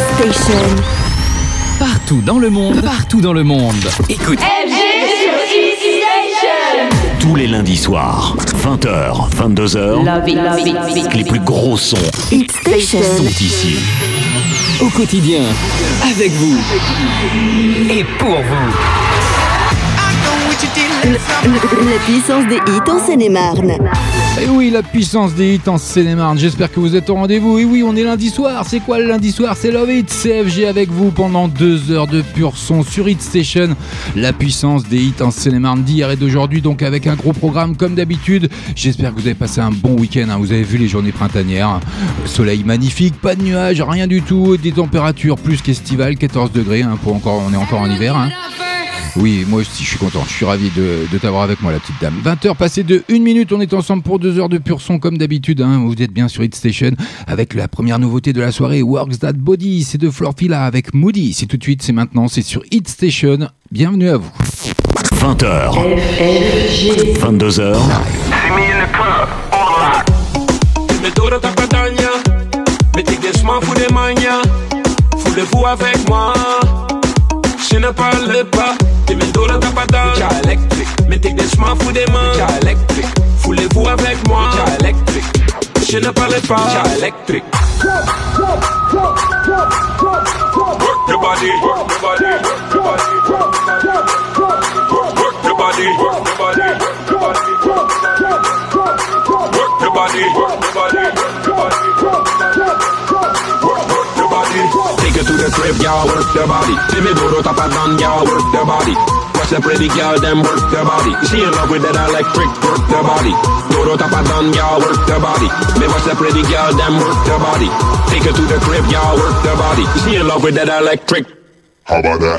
Station. Partout dans le monde, écoute. FG sur Hit Station. Tous les lundis soirs, 20h, 22h, les plus gros sons Hit Station sont ici. Au quotidien, avec vous et pour vous. La puissance des hits en Seine-et-Marne. Et oui, la puissance des hits en Seine-et-Marne. J'espère que vous êtes au rendez-vous. Et oui, on est lundi soir. C'est quoi le lundi soir? C'est Love It, CFG avec vous pendant 2 heures de pur son sur Hit Station. La puissance des hits en Seine-et-Marne d'hier et d'aujourd'hui, donc avec un gros programme comme d'habitude. J'espère que vous avez passé un bon week-end. Vous avez vu les journées printanières. Soleil magnifique, pas de nuages, rien du tout. Des températures plus qu'estivales, 14 degrés. On est encore en hiver. Oui, moi aussi je suis content, je suis ravi de t'avoir avec moi la petite dame. 20h passées de 1 minute, on est ensemble pour 2 heures de pur son comme d'habitude. Vous êtes bien sur Hit Station avec la première nouveauté de la soirée, Works That Body, c'est de Florfila avec Moody. C'est tout de suite, c'est maintenant, c'est sur Hit Station. Bienvenue à vous. 20h, 22h. Voulez-vous avec moi? Je ne parle pas, t'es mes dos dans ta patate. Média électrique, mais t'es des chemins fous des mains. Média électrique, voulez-vous avec moi? Média électrique, je ne parle pas. Média électrique. Work your body, work your body, work your body, work your body, work your body, work your body, work your body, work your body, work your body, work your body. Take it to the crib, y'all, work the body. See me do the top and down, y'all, work the body. Watch the pretty girl, them work the body. She in love with that electric, work the body. Do the top and down, y'all, work the body. Me watch the pretty girl, them work the body. Take it to the crib, y'all, work the body. She in love with that electric. How about that?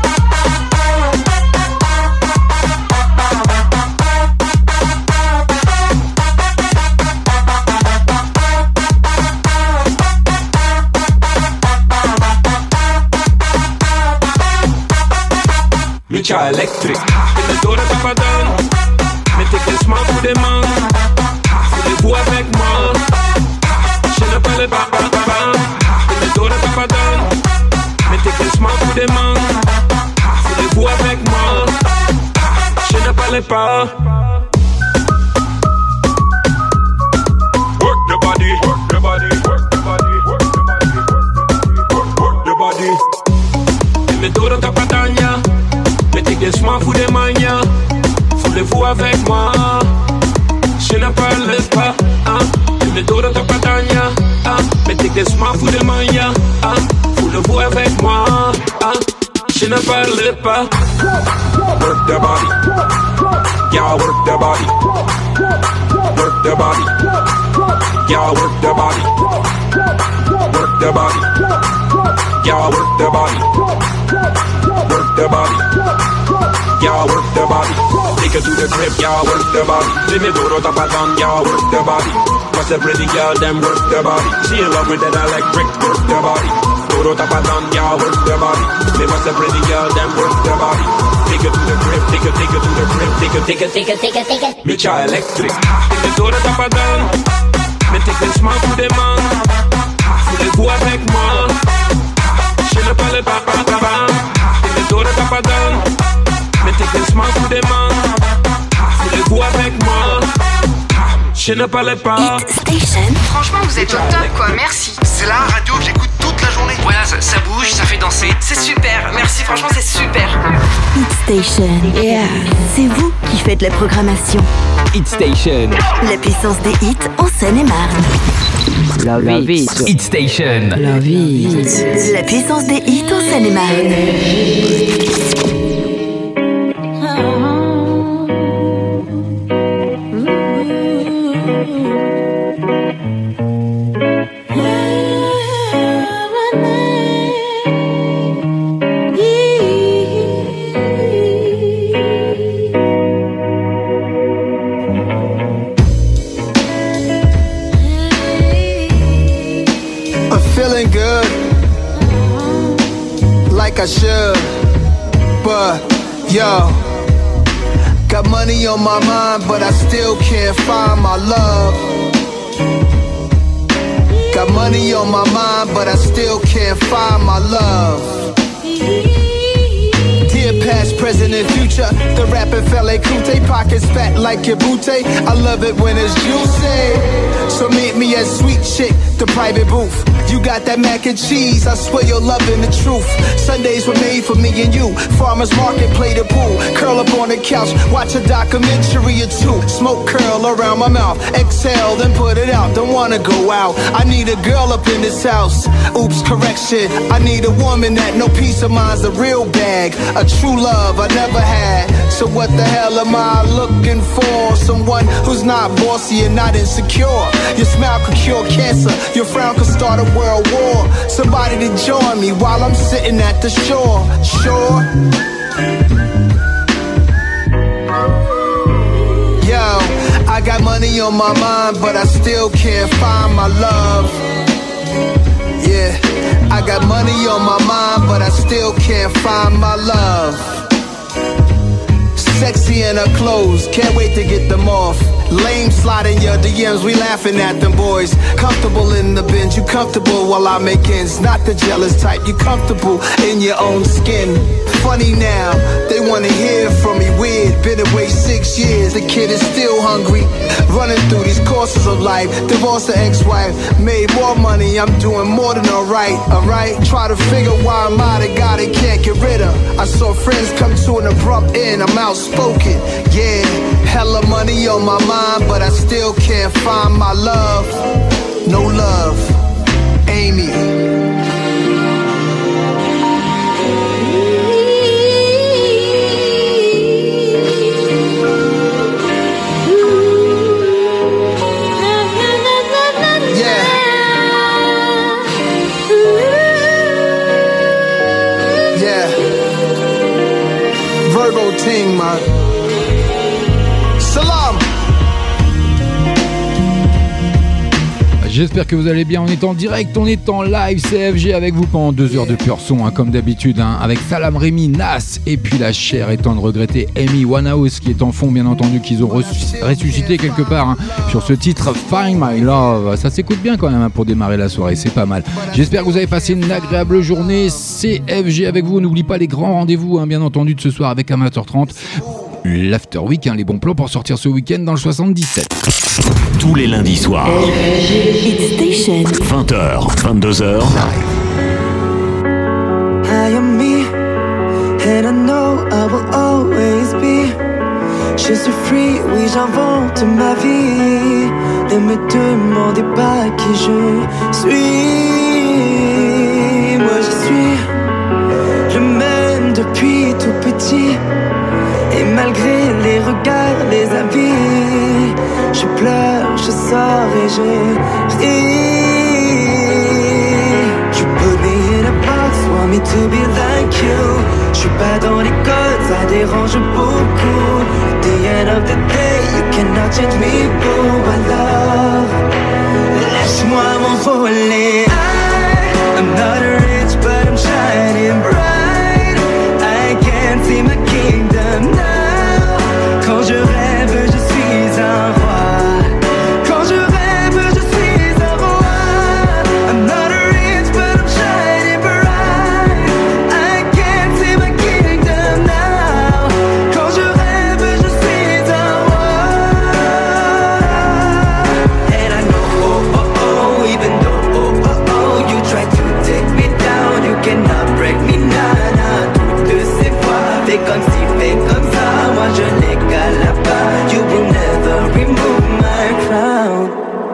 Média électrique, les dos de tapadane. Mettez des smart pour des mains. Voulez-vous avec moi? Je ne parle pas. Les dos de tapadane. Mettez des smart pour des mains. Voulez-vous avec moi? Je ne parle pas. Work the body, work the body, work the body, work the body, work the body. Les dos de tapadane. Mettez des chemins fous des manias. Voulez-vous avec moi? Je ne parle pas. Le dos de ta patania. Mettez des chemins fous des manias. Voulez-vous avec moi? Je ne parle pas. Work the body. Y'all work the body. Work the body. Y'all work the body. Work the body. Y'all work the body. Work the body. Y'all work the body. Take it to the crib, y'all work the body. See me do the top and down, y'all work the body. Watch the pretty girl, them work the body. She in love with that electric, work the body. Do the top and down, y'all work the body. Me watch the pretty girl, them work the body. Take it to the crib, take it to the crib, take it. Média électrique, me do the top and down. Me take this man pour des mains. Voulez-vous avec moi? Je ne parle pas. Me do the top and down. Mettez des smart pour des mains. Voulez-vous avec moi? Je ne parle pas. Hit Station. Franchement, vous êtes au top, quoi. Merci. C'est la radio que j'écoute toute la journée. Voilà, ça bouge, ça fait danser. C'est super. Merci, franchement, c'est super. Hit Station. Yeah. C'est vous qui faites la programmation. Hit Station. La puissance des hits en Seine-et-Marne. Love It. Hit Station. Love It. La puissance des hits en Seine-et-Marne. I should, but yo, got money on my mind, but I still can't find my love. Got money money on my mind, but I still can't find my love. Dear past, present, and future, the rapper fella Kute, pockets fat like your booty. I love it when it's juicy. So meet me at Sweet Chick, the private booth. You got that mac and cheese, I swear you're loving the truth. Sundays were made for me and you. Farmers market, play the pool. Curl up on the couch, watch a documentary or two. Smoke curl around my mouth. Exhale, then put it out. Don't wanna go out. I need a girl up in this house. Oops, correction. I need a woman that no peace of mind's a real bag. A true love I never had. So what the hell am I looking for? Someone who's not bossy and not insecure. Your smile could cure cancer. Your frown could start a world war. Somebody to join me while I'm sitting at the shore. Sure. Yo, I got money on my mind, but I still can't find my love. Yeah, I got money on my mind, but I still can't find my love. Sexy in her clothes, can't wait to get them off. Lame slide in your DMs, we laughing at them boys. Comfortable in the binge, you comfortable while I make ends. Not the jealous type, you comfortable in your own skin. Funny now, they wanna hear from me. Weird, been away 6 years, the kid is still hungry. Running through these courses of life. Divorced the ex-wife, made more money, I'm doing more than alright. Try to figure why I'm out of God and can't get rid of. I saw friends come to an abrupt end, I'm outspoken. Yeah, hella money on my mind, but I still can't find my love. No love, Amy. Virgo team, man. Salam. J'espère que vous allez bien, on est en direct, on est en live, CFG avec vous pendant 2 heures de pur son, comme d'habitude, avec Salam Remy, Nas, et puis la chère et tendre regrettée Amy Winehouse qui est en fond, bien entendu, qu'ils ont ressuscité quelque part sur ce titre Find My Love. Ça s'écoute bien quand même pour démarrer la soirée, c'est pas mal. J'espère que vous avez passé une agréable journée. CFG avec vous, n'oublie pas les grands rendez-vous, bien entendu, de ce soir avec Amateur 30. L'After Week, les bons plans pour sortir ce week-end dans le 77. Tous les lundis soirs, Hit Station. 20h, 22h. I am me, and I know I will always be. Je suis free, oui j'invente ma vie. Ne me demandez pas qui je suis. Moi je suis le même depuis tout petit. Et malgré les regards, les avis, je pleure, je sors et je ris. You put me in a box, want me to be like you. Je suis pas dans les codes, ça dérange beaucoup. At the end of the day, you cannot change me, boo, my love. Laisse-moi m'envoler. I'm not rich, but I'm shining bright. I can't see my kingdom now. Quand je rêve, je suis un roi. Quand je rêve, je suis un roi. I'm not rich, but I'm shining bright. I can't see my kingdom now. Quand je rêve, je suis un roi. And I know, even though, you try to take me down, you cannot break me now. Toutes ces fois, fais comme si, fais comme ça, moi je n'égale pas. You will never remove my crown.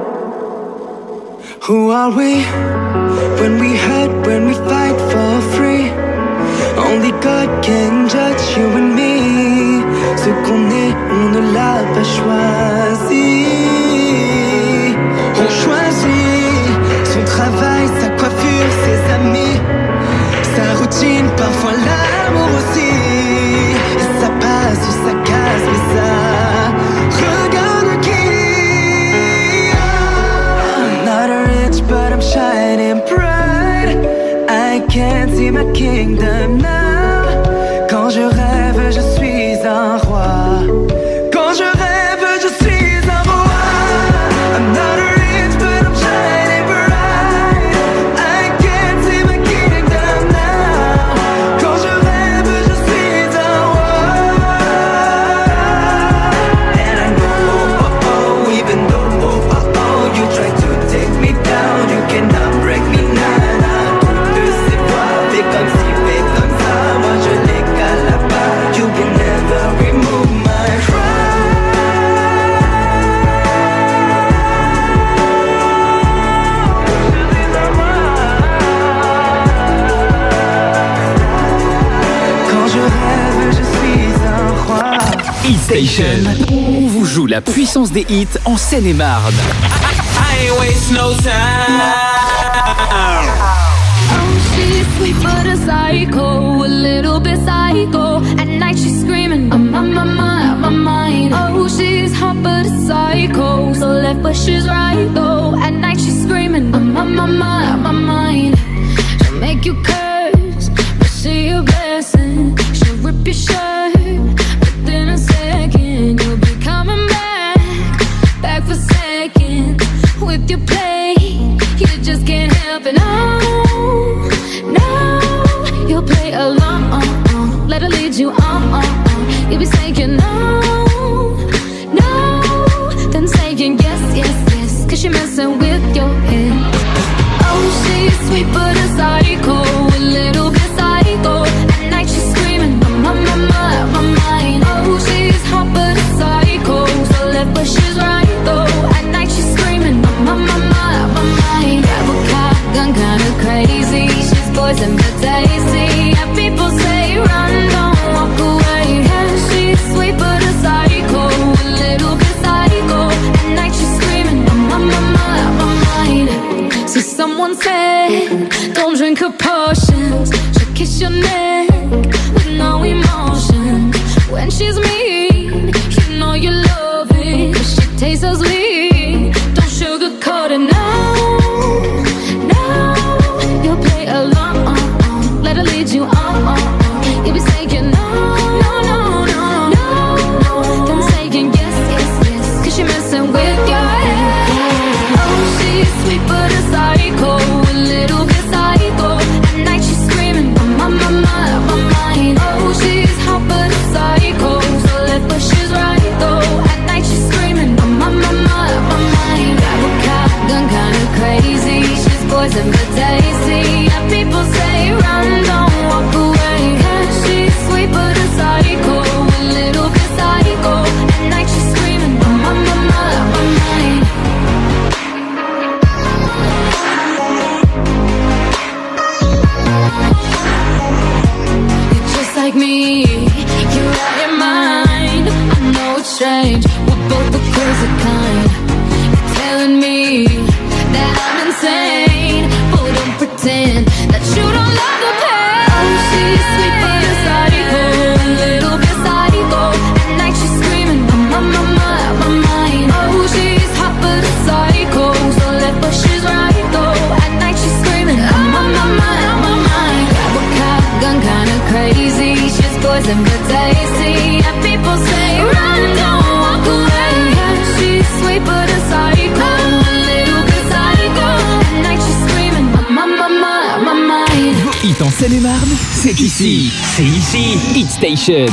Who are we? When we hurt, when we fight for free. Only God can judge you and me. Ce qu'on est, on ne l'a pas choisi. On choisit son travail, sa coiffure, ses amis, sa routine, parfois l'amour aussi. Ça passe ou ça casse, mais ça regarde qui. I'm not rich, but I'm shining bright. I can't see my kingdom now. Quand je rêve, je suis un roi. Quand je rêve, je suis un roi. I'm not rich, but I'm shining bright. Hit Station. On vous joue la puissance des hits en Seine-et-Marne. I ain't waste no time. Oh, she's sweet but a psycho, a little bit psycho. At night she's screaming, I'm on my mind. Oh, she's hot but a psycho, so left but she's right though. At night she's screaming, I'm on my mind. She'll make you curse, but see a blessing. She'll rip your shirt within a second. You'll be coming back for seconds with your play. You just can't help it. No, you'll play along. Let her lead you on. You'll be saying no, then saying yes, 'cause she's messing with your head. Oh, she's sweet but a psycho, a little bit psycho. At night she's screaming, I'm on my mind. Oh, she's hot but a psycho, so left but she's right though. At night she's screaming, I'm on my mind. Grab a car, gun kinda crazy. She's poison but tasty. Yeah, people say run, don't walk away. Yeah, she's sweet but a psycho, a little bit psycho. At night she's screaming, I'm on my mind. See, someone said, don't drink her potions. She'll kiss your neck with no emotion. When she's mean, you know you love it. She tastes so sweet, don't sugarcoat it. No, you'll play along. Let her lead you on. You'll be saying no, then saying yes, 'cause she's messing with your head. Oh, she's sweet but a psycho, a little bit psycho. At night she's screaming, I'm on my mind. Oh, she's hot but a psycho, so left but she's right though. At night she's screaming, I'm on my mind. Grab a car, gun kinda crazy. She's poison but tasty. Yeah, people say run, don't walk away. Yeah, she's sweet but a psycho, a little bit psycho. At night she's screaming, I'm on my mind. You're just like me, you're out your mind. I know it's strange, we're both the crazy kind. You're telling me that I'm insane, but don't pretend that you don't love the pain. Oh, she's sweet but a psycho, a little bit psycho. At night she's screaming, I'm on my mind. Oh, she's hot but a psycho, so left but she's right though. At night she's screaming, I'm on my mind. Grab a car, gun kinda crazy. She's poison but tasty. Yeah, people say run, don't walk away. Yeah, she's sweet but a psycho, a little bit psycho. At night she's screaming, I'm on my mind. Vos hits en Seine-et-Marne, c'est ici. C'est ici. Hit Station.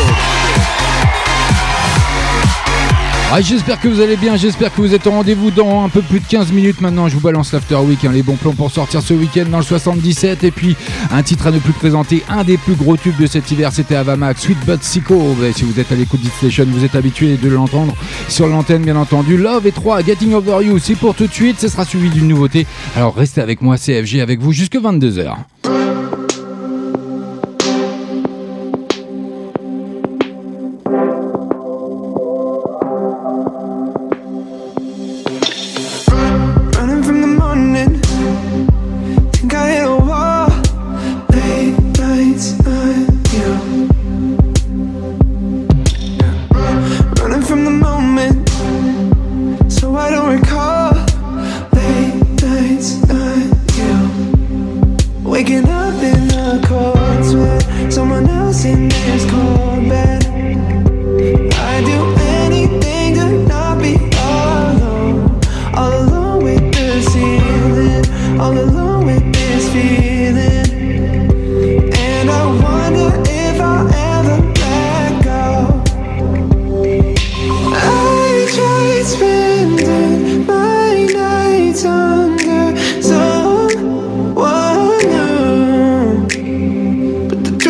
Ah, j'espère que vous allez bien, j'espère que vous êtes au rendez-vous dans un peu plus de 15 minutes maintenant. Je vous balance l'After Week, les bons plans pour sortir ce week-end dans le 77. Et puis un titre à ne plus présenter, un des plus gros tubes de cet hiver, c'était Avamax, Sweet But Psycho. Si vous êtes à l'écoute d'Hit Station, vous êtes habitué de l'entendre sur l'antenne bien entendu. Love et 3, Getting Over You, c'est pour tout de suite, ce sera suivi d'une nouveauté. Alors restez avec moi, CFG avec vous jusque 22h. But the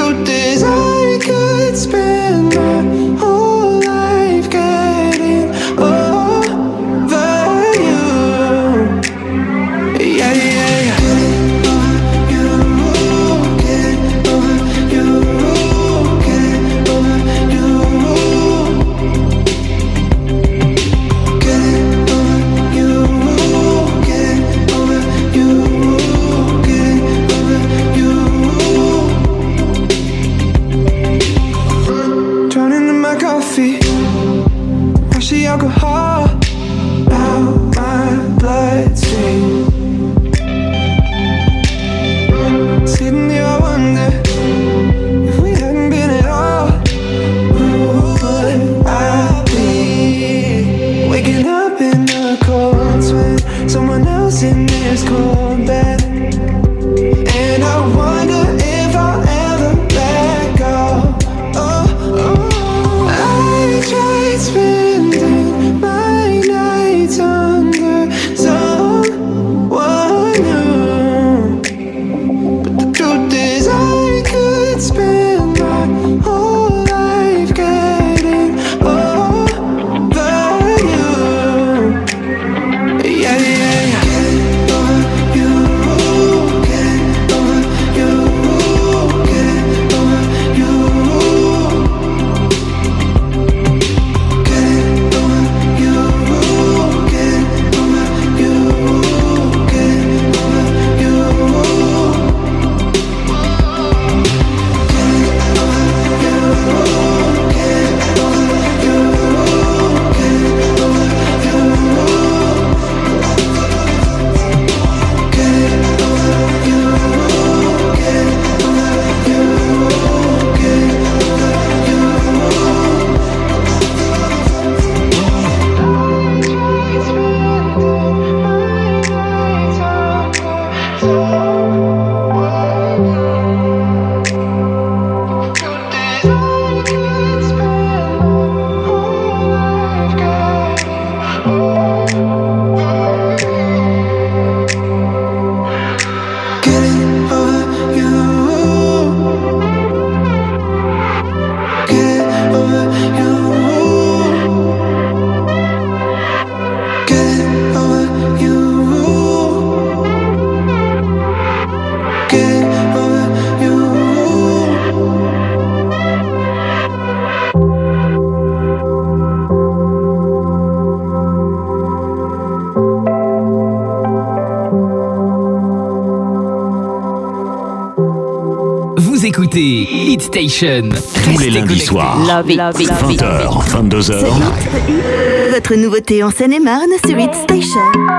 Vous écoutez Hit Station. Tous les lundis soirs. 20h, 22h. Votre nouveauté en Seine-et-Marne sur Hit Station.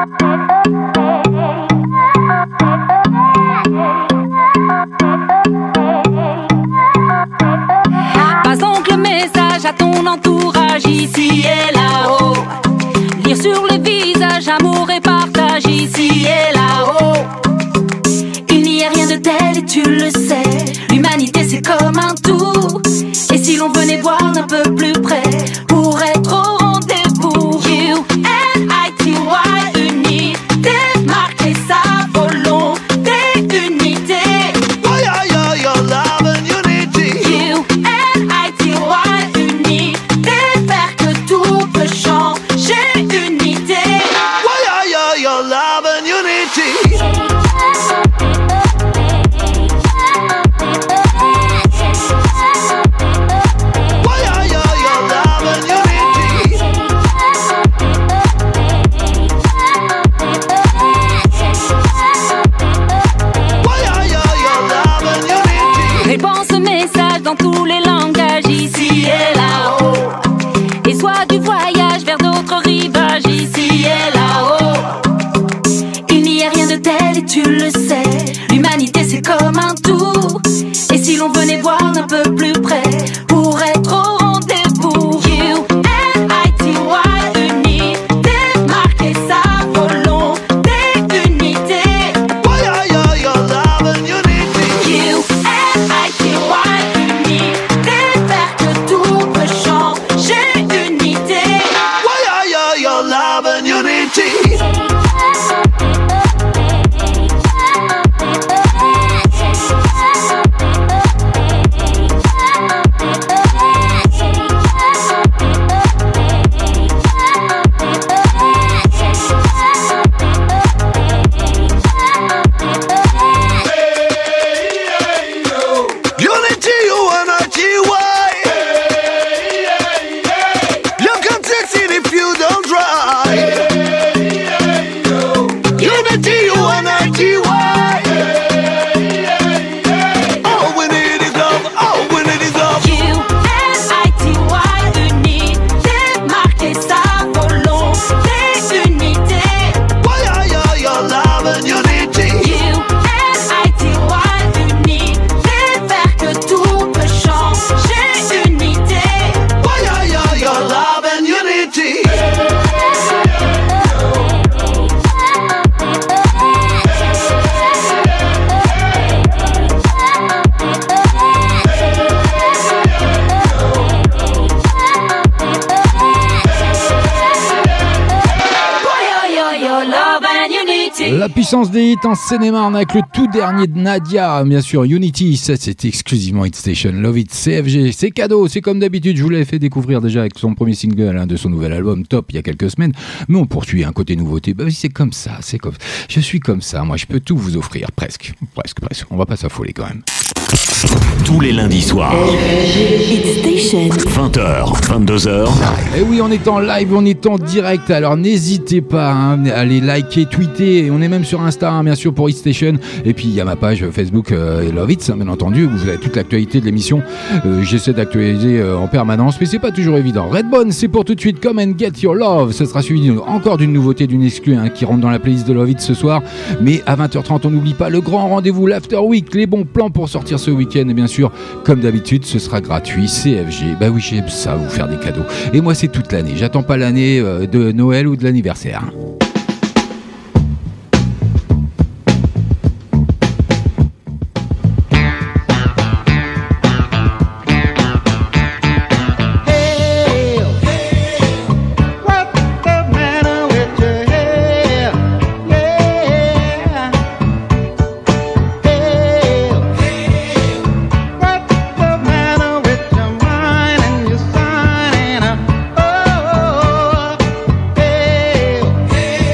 Passe donc le message à ton entourage ici et là-haut. Lire sur le visage, amour et partage ici et là-haut. Il n'y a rien de tel et tu le sais. L'humanité c'est comme un tout. Et si l'on venait voir d'un peu plus près pour être au rendez-vous. U-N-I-T-Y, unité, marquer sa volonté, unité. Your love and unity. U-N-I-T-Y, unité, faire que tout peut changer, unité. Your love and unity. Répands ce message dans tous les langages ici et là-haut. Et sois du voyage vers d'autres rivages ici et là-haut. Il n'y a rien de tel et tu le sais. L'humanité c'est comme un tout. Et si l'on venait voir d'un peu plus près pour être au rendez-vous. U-N-I-T-Y, unité, marquer sa volonté, unité. Your love and unity. U-N-I-T-Y, unité, faire que tout peut changer, unité. Your love and unity. Unity, U-N-I-T-Y. You can succeed if you don't try. Unity, U-N-I-T-Y. All we need is love, all we need is love. U-N-I-T-Y, unité, marquer sa volonté, unité. Your love and unity. U-N-I-T-Y, unité, faire que tout peut changer, unité. Your love and unity. Your love and unity. La puissance des hits en Seine-et-Marne avec le tout dernier de Nadia, bien sûr, Unity. Ça, c'est exclusivement Hit Station. Love It, CFG. C'est cadeau, c'est comme d'habitude. Je vous l'avais fait découvrir déjà avec son premier single de son nouvel album Top il y a quelques semaines. Mais on poursuit un côté nouveauté. Bah oui, c'est comme ça. Je suis comme ça. Moi, je peux tout vous offrir. Presque. On va pas s'affoler quand même. Tous les lundis soirs. Hit Station. 20h, 22h. Et oui, on est en live, on est en direct. Alors n'hésitez pas à aller liker, tweeter. On est même sur Insta, bien sûr, pour Hit Station. Et puis il y a ma page Facebook Love It, bien entendu, où vous avez toute l'actualité de l'émission. J'essaie d'actualiser en permanence, mais c'est pas toujours évident. Redbone, c'est pour tout de suite. Come and get your love. Ça sera suivi encore d'une nouveauté, d'une exclue qui rentre dans la playlist de Love It ce soir. Mais à 20h30, on n'oublie pas le grand rendez-vous, l'After Week, les bons plans pour sortir ce week-end. Et bien sûr, comme d'habitude, ce sera gratuit. CFG. Bah oui, j'aime ça, vous faire des cadeaux. Et moi, c'est toute l'année. J'attends pas l'année de Noël ou de l'anniversaire. Hey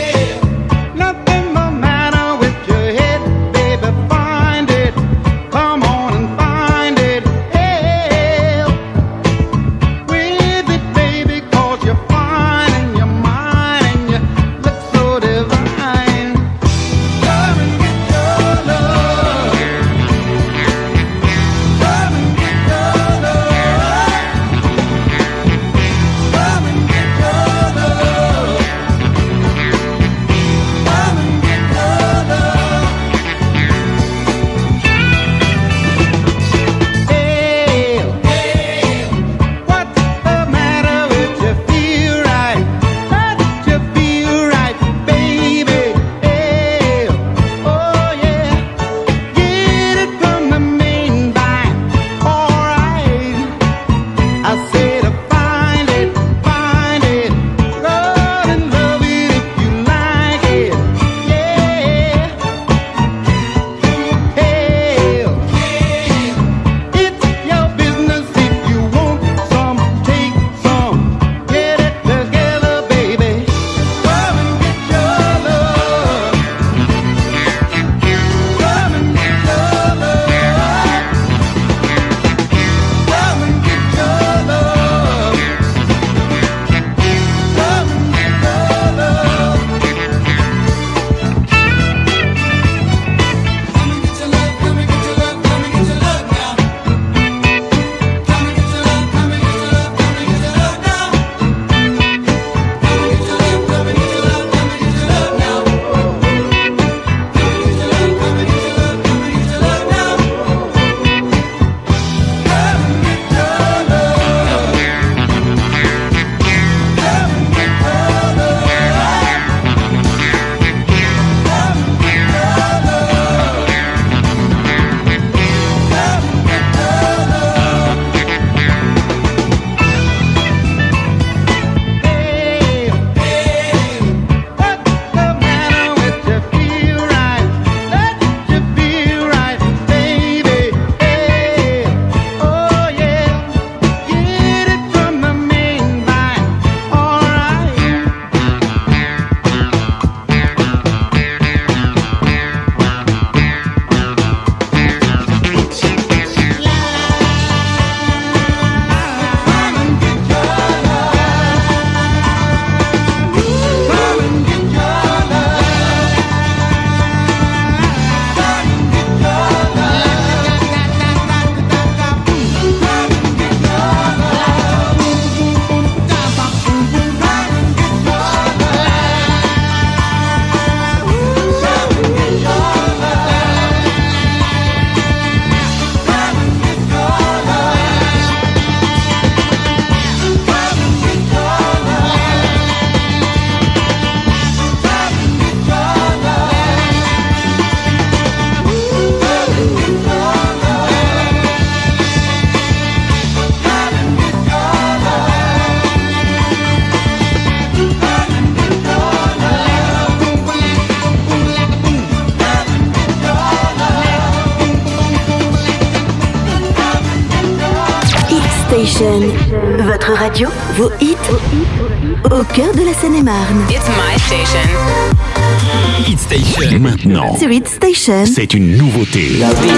Station, votre radio, vos hits, au cœur de la Seine-et-Marne. It's my station. Hit Station. Maintenant, Sur Hit Station, c'est une nouveauté.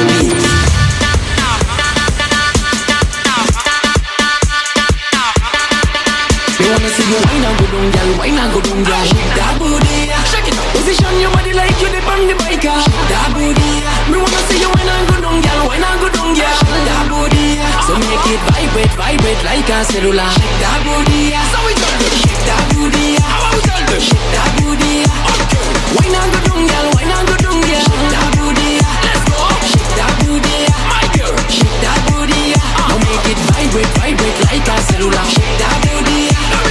They wanna see you wine and go down, girl, wine and go down, girl. Shake that booty, shake it. Position your body like you dip on the bike. Shake that booty. Me wanna see you wine and go down, girl, wine and go down, girl. Shake that booty. So make it vibrate, vibrate like a cellular. Shake that booty. So we tell them, shake that booty. How we tell them, shake that booty. Okay. Wine and go down, girl, wine and go down, girl. Shake that booty. Let's go. Shake that booty, my girl. Shake that booty. Now make it vibrate, vibrate like a cellular. Shake that booty.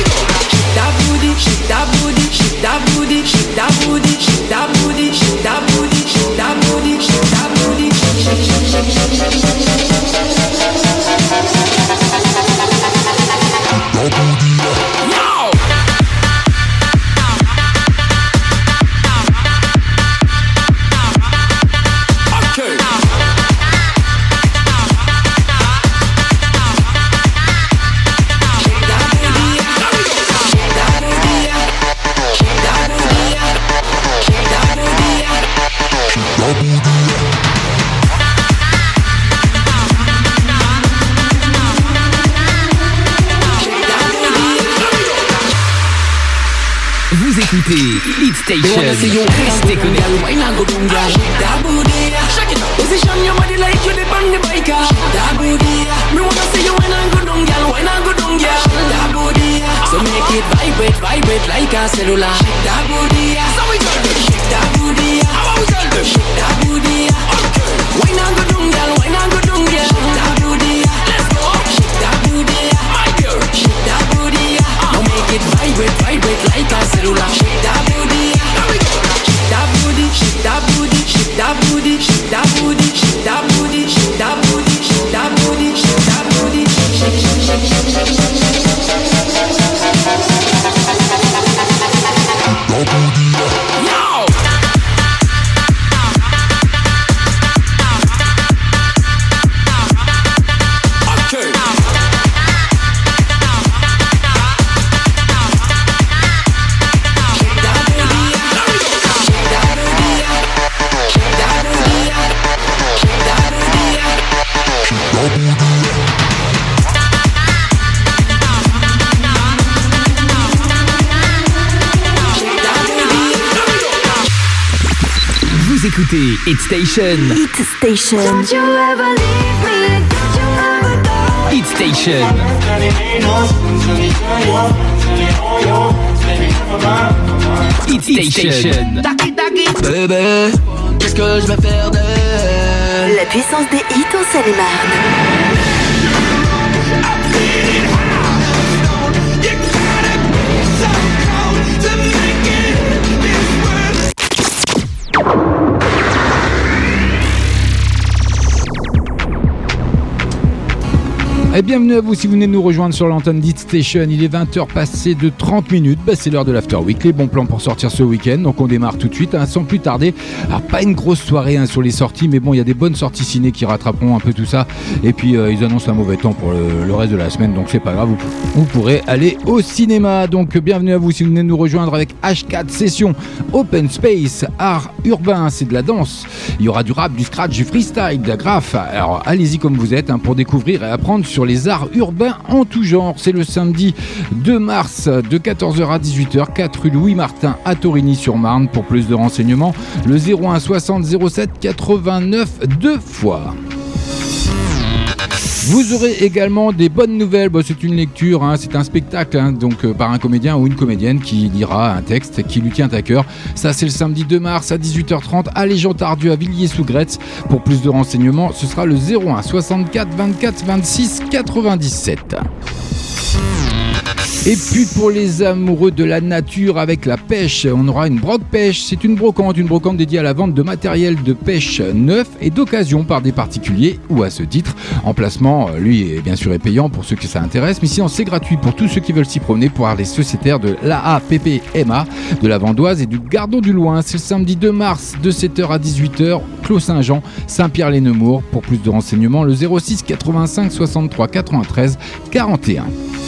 Shake that booty, shake that booty, shake that booty, shake that booty, shake that booty, shake that booty, shake that booty, shake that booty, Vous écoutez Hit Station. Restez connectés. Position your body like you dip on the bike. That booty. Me wanna see you wine and go down, girl, wine and go down, girl. That booty. So make it vibrate, vibrate like a cellular. That booty. So we tell them, shake that booty. How we tell them, shake that booty. Okay. Wine and go down, girl, wine and go down, girl. Shake that booty. Let's go. Shake that booty, my girl. Shake that booty. Now make it vibrate, vibrate like a cellular. Shake that booty. Here we go. Shake that booty, shake that booty, shake that booty, shake that booty, shake that booty, shake that booty, shake that booty, shake that booty, shake, shake, shake, shake, shake, shake, shake. Yo! Vous écoutez Hit Station. Hit Station. Don't you ever leave me, don't you ever go. Hit Station. Hit Station. Bébé, qu'est-ce que je vais faire d'elle? La puissance des hits en Seine-et-Marne. Et bienvenue à vous si vous venez de nous rejoindre sur l'antenne d'Hit Station. Il est 20h passé de 30 minutes. C'est l'heure de l'After Week. Les bons plans pour sortir ce week-end. Donc on démarre tout de suite sans plus tarder. Alors pas une grosse soirée sur les sorties, mais bon, il y a des bonnes sorties ciné qui rattraperont un peu tout ça. Et puis ils annoncent un mauvais temps pour le reste de la semaine. Donc c'est pas grave, vous pourrez aller au cinéma. Donc bienvenue à vous si vous venez de nous rejoindre avec H4 Session Open Space Art Urbain. C'est de la danse. Il y aura du rap, du scratch, du freestyle, de la graphe. Alors allez-y comme vous êtes pour découvrir et apprendre sur les arts urbains en tout genre. C'est le samedi 2 mars de 14h à 18h, 4 rue Louis Martin à Torigny-sur-Marne. Pour plus de renseignements, le 01 60 07 89 2 fois. Vous aurez également des bonnes nouvelles. C'est une lecture, c'est un spectacle, donc par un comédien ou une comédienne qui lira un texte qui lui tient à cœur. Ça, c'est le samedi 2 mars à 18h30 à Légion-Tardieu à Villiers-sous-Gretz. Pour plus de renseignements, ce sera le 01 64 24 26 97. Et puis pour les amoureux de la nature avec la pêche, on aura une broc pêche. C'est une brocante dédiée à la vente de matériel de pêche neuf et d'occasion par des particuliers ou à ce titre. Emplacement, lui, est bien sûr est payant pour ceux que ça intéresse, mais sinon c'est gratuit pour tous ceux qui veulent s'y promener pour voir les sociétaires de l'AAPPMA, de la Vandoise et du Gardon du Loing. C'est le samedi 2 mars de 7h à 18h, Clos Saint-Jean, Saint-Pierre-les-Nemours. Pour plus de renseignements, le 06 85 63 93 41.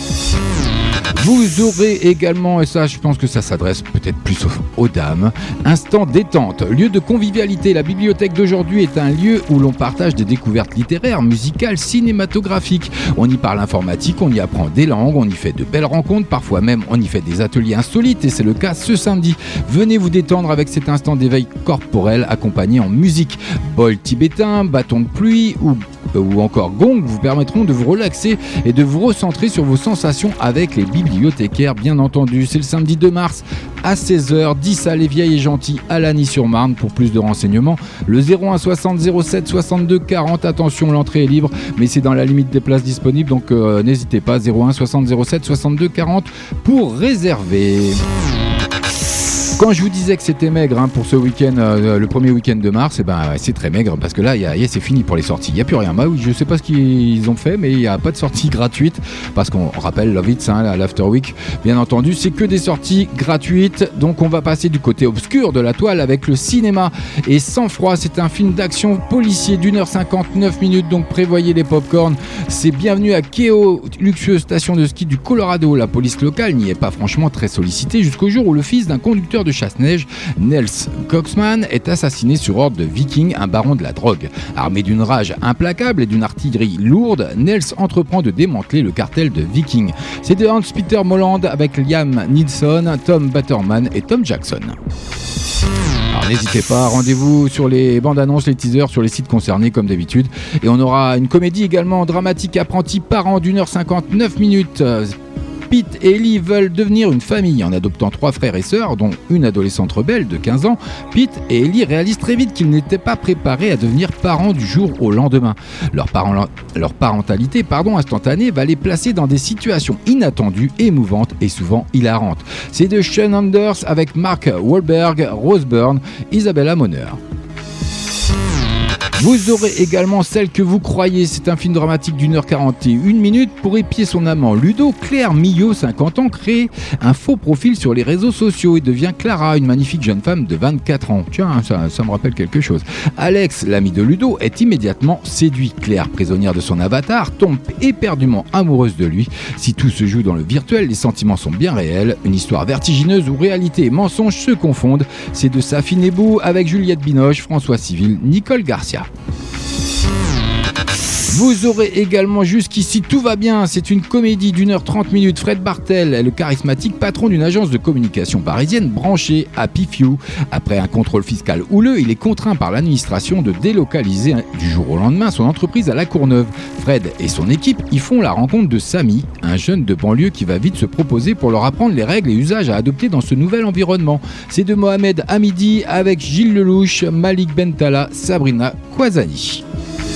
Vous aurez également, et ça je pense que ça s'adresse peut-être plus aux dames, instant détente, lieu de convivialité. La bibliothèque d'aujourd'hui est un lieu où l'on partage des découvertes littéraires, musicales, cinématographiques. On y parle informatique, on y apprend des langues, on y fait de belles rencontres, parfois même on y fait des ateliers insolites et c'est le cas ce samedi. Venez vous détendre avec cet instant d'éveil corporel accompagné en musique. Bol tibétain, bâton de pluie ou encore gong vous permettront de vous relaxer et de vous recentrer sur vos sensations avec les bibliothécaires bien entendu. C'est le samedi 2 mars à 16h, 10 à Les Vieilles et Gentilles à Lagny-sur-Marne. Pour plus de renseignements, le 01 60 07 62 40. Attention, l'entrée est libre mais c'est dans la limite des places disponibles, donc n'hésitez pas, 01 60 07 62 40 pour réserver. Quand je vous disais que c'était maigre pour ce week-end, le premier week-end de mars, c'est très maigre parce que là, c'est fini pour les sorties. Il n'y a plus rien. Bah oui, je ne sais pas ce qu'ils ont fait, mais il n'y a pas de sortie gratuite parce qu'on rappelle Love It, l'After Week, bien entendu, c'est que des sorties gratuites. Donc on va passer du côté obscur de la toile avec le cinéma et Sang Froid. C'est un film d'action policier d'1h59, donc prévoyez les pop-corn. C'est bienvenue à Keio, luxueuse station de ski du Colorado. La police locale n'y est pas franchement très sollicitée jusqu'au jour où le fils d'un conducteur de chasse-neige, Nels Coxman, est assassiné sur ordre de Viking, un baron de la drogue. Armé d'une rage implacable et d'une artillerie lourde, Nels entreprend de démanteler le cartel de Viking. C'est de Hans-Peter Molland avec Liam Neeson, Tom Batterman et Tom Jackson. Alors n'hésitez pas, rendez-vous sur les bandes annonces, les teasers sur les sites concernés comme d'habitude. Et on aura une comédie également dramatique apprenti parent d'1h59. Pete et Ellie veulent devenir une famille en adoptant 3 frères et sœurs, dont une adolescente rebelle de 15 ans. Pete et Ellie réalisent très vite qu'ils n'étaient pas préparés à devenir parents du jour au lendemain. Leur parentalité instantanée va les placer dans des situations inattendues, émouvantes et souvent hilarantes. C'est de Sean Anders avec Mark Wahlberg, Rose Byrne, Isabella Moner. Vous aurez également Celle que vous croyez. C'est un film dramatique d'1h41 pour épier son amant Ludo. Claire Millot, 50 ans, crée un faux profil sur les réseaux sociaux et devient Clara, une magnifique jeune femme de 24 ans. Tiens, ça me rappelle quelque chose. Alex, l'ami de Ludo, est immédiatement séduit. Claire, prisonnière de son avatar, tombe éperdument amoureuse de lui. Si tout se joue dans le virtuel, les sentiments sont bien réels. Une histoire vertigineuse où réalité et mensonge se confondent. C'est de Safi Nebou avec Juliette Binoche, François Civil, Nicole Garcia. Vous aurez également Jusqu'ici tout va bien, c'est une comédie d'1h30. Fred Bartel est le charismatique patron d'une agence de communication parisienne branchée à Pifew. Après un contrôle fiscal houleux, il est contraint par l'administration de délocaliser du jour au lendemain son entreprise à La Courneuve. Fred et son équipe y font la rencontre de Samy, un jeune de banlieue qui va vite se proposer pour leur apprendre les règles et usages à adopter dans ce nouvel environnement. C'est de Mohamed Hamidi avec Gilles Lelouch, Malik Bentala, Sabrina Kwazani.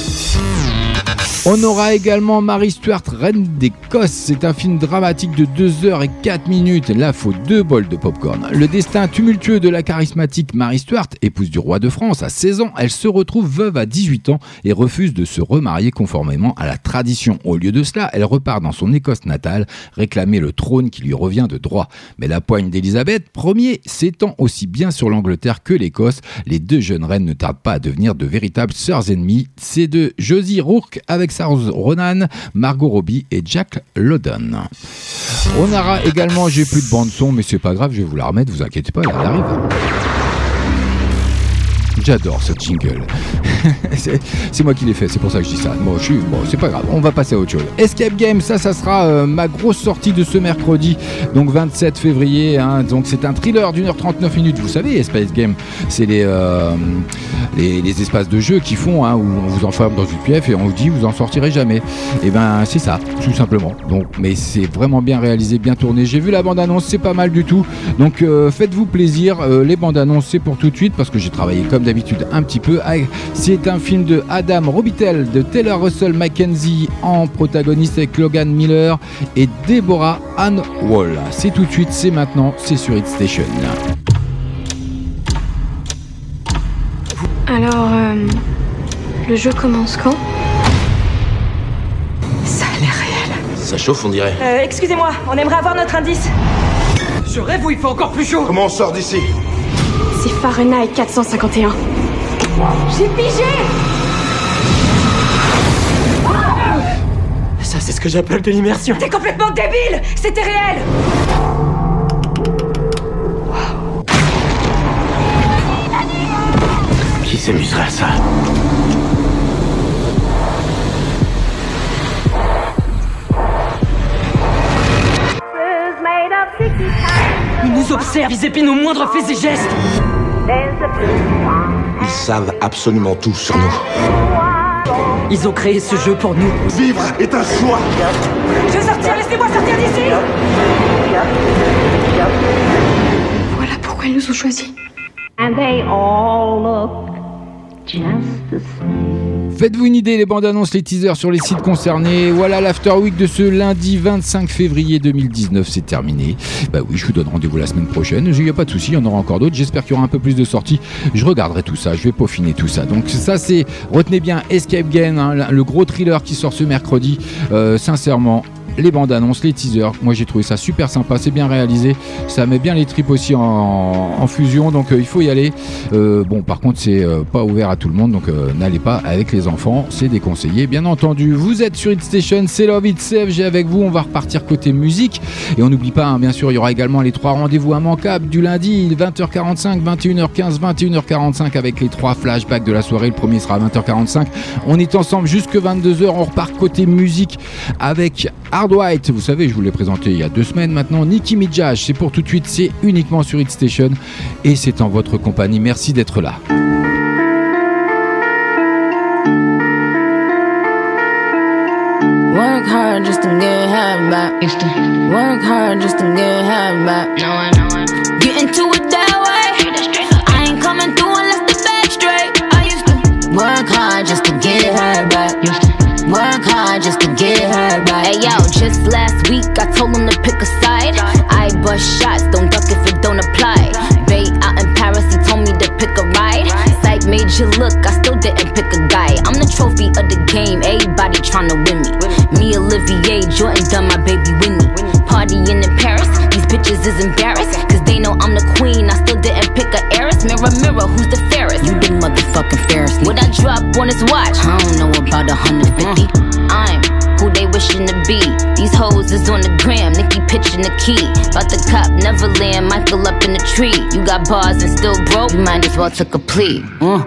On aura également Mary Stuart, Reine d'Écosse. C'est un film dramatique de 2h04. Là, faut 2 bols de popcorn. Le destin tumultueux de la charismatique Mary Stuart, épouse du roi de France à 16 ans, elle se retrouve veuve à 18 ans et refuse de se remarier conformément à la tradition. Au lieu de cela, elle repart dans son Écosse natale réclamer le trône qui lui revient de droit. Mais la poigne d'Élisabeth Ier s'étend aussi bien sur l'Angleterre que l'Écosse. Les 2 jeunes reines ne tardent pas à devenir de véritables sœurs ennemies. C'est de Josie Rourke avec Saoirse Ronan, Margot Robbie et Jack London. On aura également, j'ai plus de bande son, mais c'est pas grave, je vais vous la remettre, vous inquiétez pas, elle arrive. J'adore ce jingle. c'est moi qui l'ai fait, c'est pour ça que je dis ça. Bon, c'est pas grave, on va passer à autre chose. Escape Game, ça sera ma grosse sortie de ce mercredi, donc 27 février. Donc c'est un thriller d'1h39. Vous savez, Escape Game, c'est les espaces de jeu qui font où on vous enferme dans une pièce et on vous dit vous en sortirez jamais. Et c'est ça, tout simplement. Donc, mais c'est vraiment bien réalisé, bien tourné. J'ai vu la bande-annonce, c'est pas mal du tout. Donc faites-vous plaisir. Les bandes-annonces, c'est pour tout de suite parce que j'ai travaillé comme d'habitude un petit peu. C'est un film de Adam Robitel, de Taylor Russell Mackenzie en protagoniste avec Logan Miller et Deborah Ann Wall. C'est tout de suite, c'est maintenant, c'est sur Hit Station. Alors, le jeu commence quand ? Ça a l'air réel. Ça chauffe, on dirait. Excusez-moi, on aimerait avoir notre indice. Je rêve où il fait encore plus chaud. Comment on sort d'ici ? C'est Fahrenheit 451. J'ai pigé. Ça, c'est ce que j'appelle de l'immersion. T'es complètement débile. C'était réel. Qui s'amuserait à ça ? Ils nous observent, ils épinent nos moindres faits et gestes. Ils savent absolument tout sur nous. Ils ont créé ce jeu pour nous. Vivre est un choix. Je veux sortir, laissez-moi sortir d'ici. Voilà pourquoi ils nous ont choisis. And they all look just the same. Faites-vous une idée, les bandes annonces, les teasers sur les sites concernés. Voilà, l'After Week de ce lundi 25 février 2019, c'est terminé. Bah oui, je vous donne rendez-vous la semaine prochaine. Il n'y a pas de souci, il y en aura encore d'autres. J'espère qu'il y aura un peu plus de sorties. Je regarderai tout ça, je vais peaufiner tout ça. Donc ça, c'est, retenez bien, Escape Game, hein, le gros thriller qui sort ce mercredi. Sincèrement, les bandes annonces, les teasers, moi j'ai trouvé ça super sympa, c'est bien réalisé, ça met bien les tripes aussi en fusion, donc il faut y aller. Bon, par contre c'est pas ouvert à tout le monde, donc n'allez pas avec les enfants, c'est déconseillé bien entendu. Vous êtes sur Hit Station, c'est Love It CFG avec vous, on va repartir côté musique et on n'oublie pas, hein, bien sûr il y aura également les 3 rendez-vous immanquables du lundi, 20h45, 21h15, 21h45 avec les 3 flashbacks de la soirée. Le premier sera à 20h45, on est ensemble jusque 22h, on repart côté musique avec Hard White, vous savez, je vous l'ai présenté il y a 2 semaines maintenant. Nicki Minaj, c'est pour tout de suite, c'est uniquement sur Hit Station et c'est en votre compagnie. Merci d'être là. Work hard just to get half back. Work hard just to get half back. Get into it that way. I ain't coming through unless the back straight. I used to work hard just to get her back. Work hard just to get her back. Hey yo, just last week I told him to pick a side. I bust shots, don't duck if it don't apply. Bay out in Paris, he told me to pick a ride. Psych made you look, I still didn't pick a guy. I'm the trophy of the game, everybody tryna win me. Me, Olivier, Jordan, done my baby Winnie. Partying in Paris, these bitches is embarrassed, cause they know I'm the queen, I still didn't pick a heiress. Mirror, mirror, who's the fairest? You the motherfucking fairest. What I drop on his watch? I don't know about 150. I'm who they wishing to be. These hoes is on the gram, Nicki pitching the key. About the cop, Neverland, Michael up in the tree. You got bars and still broke, you might as well took a plea.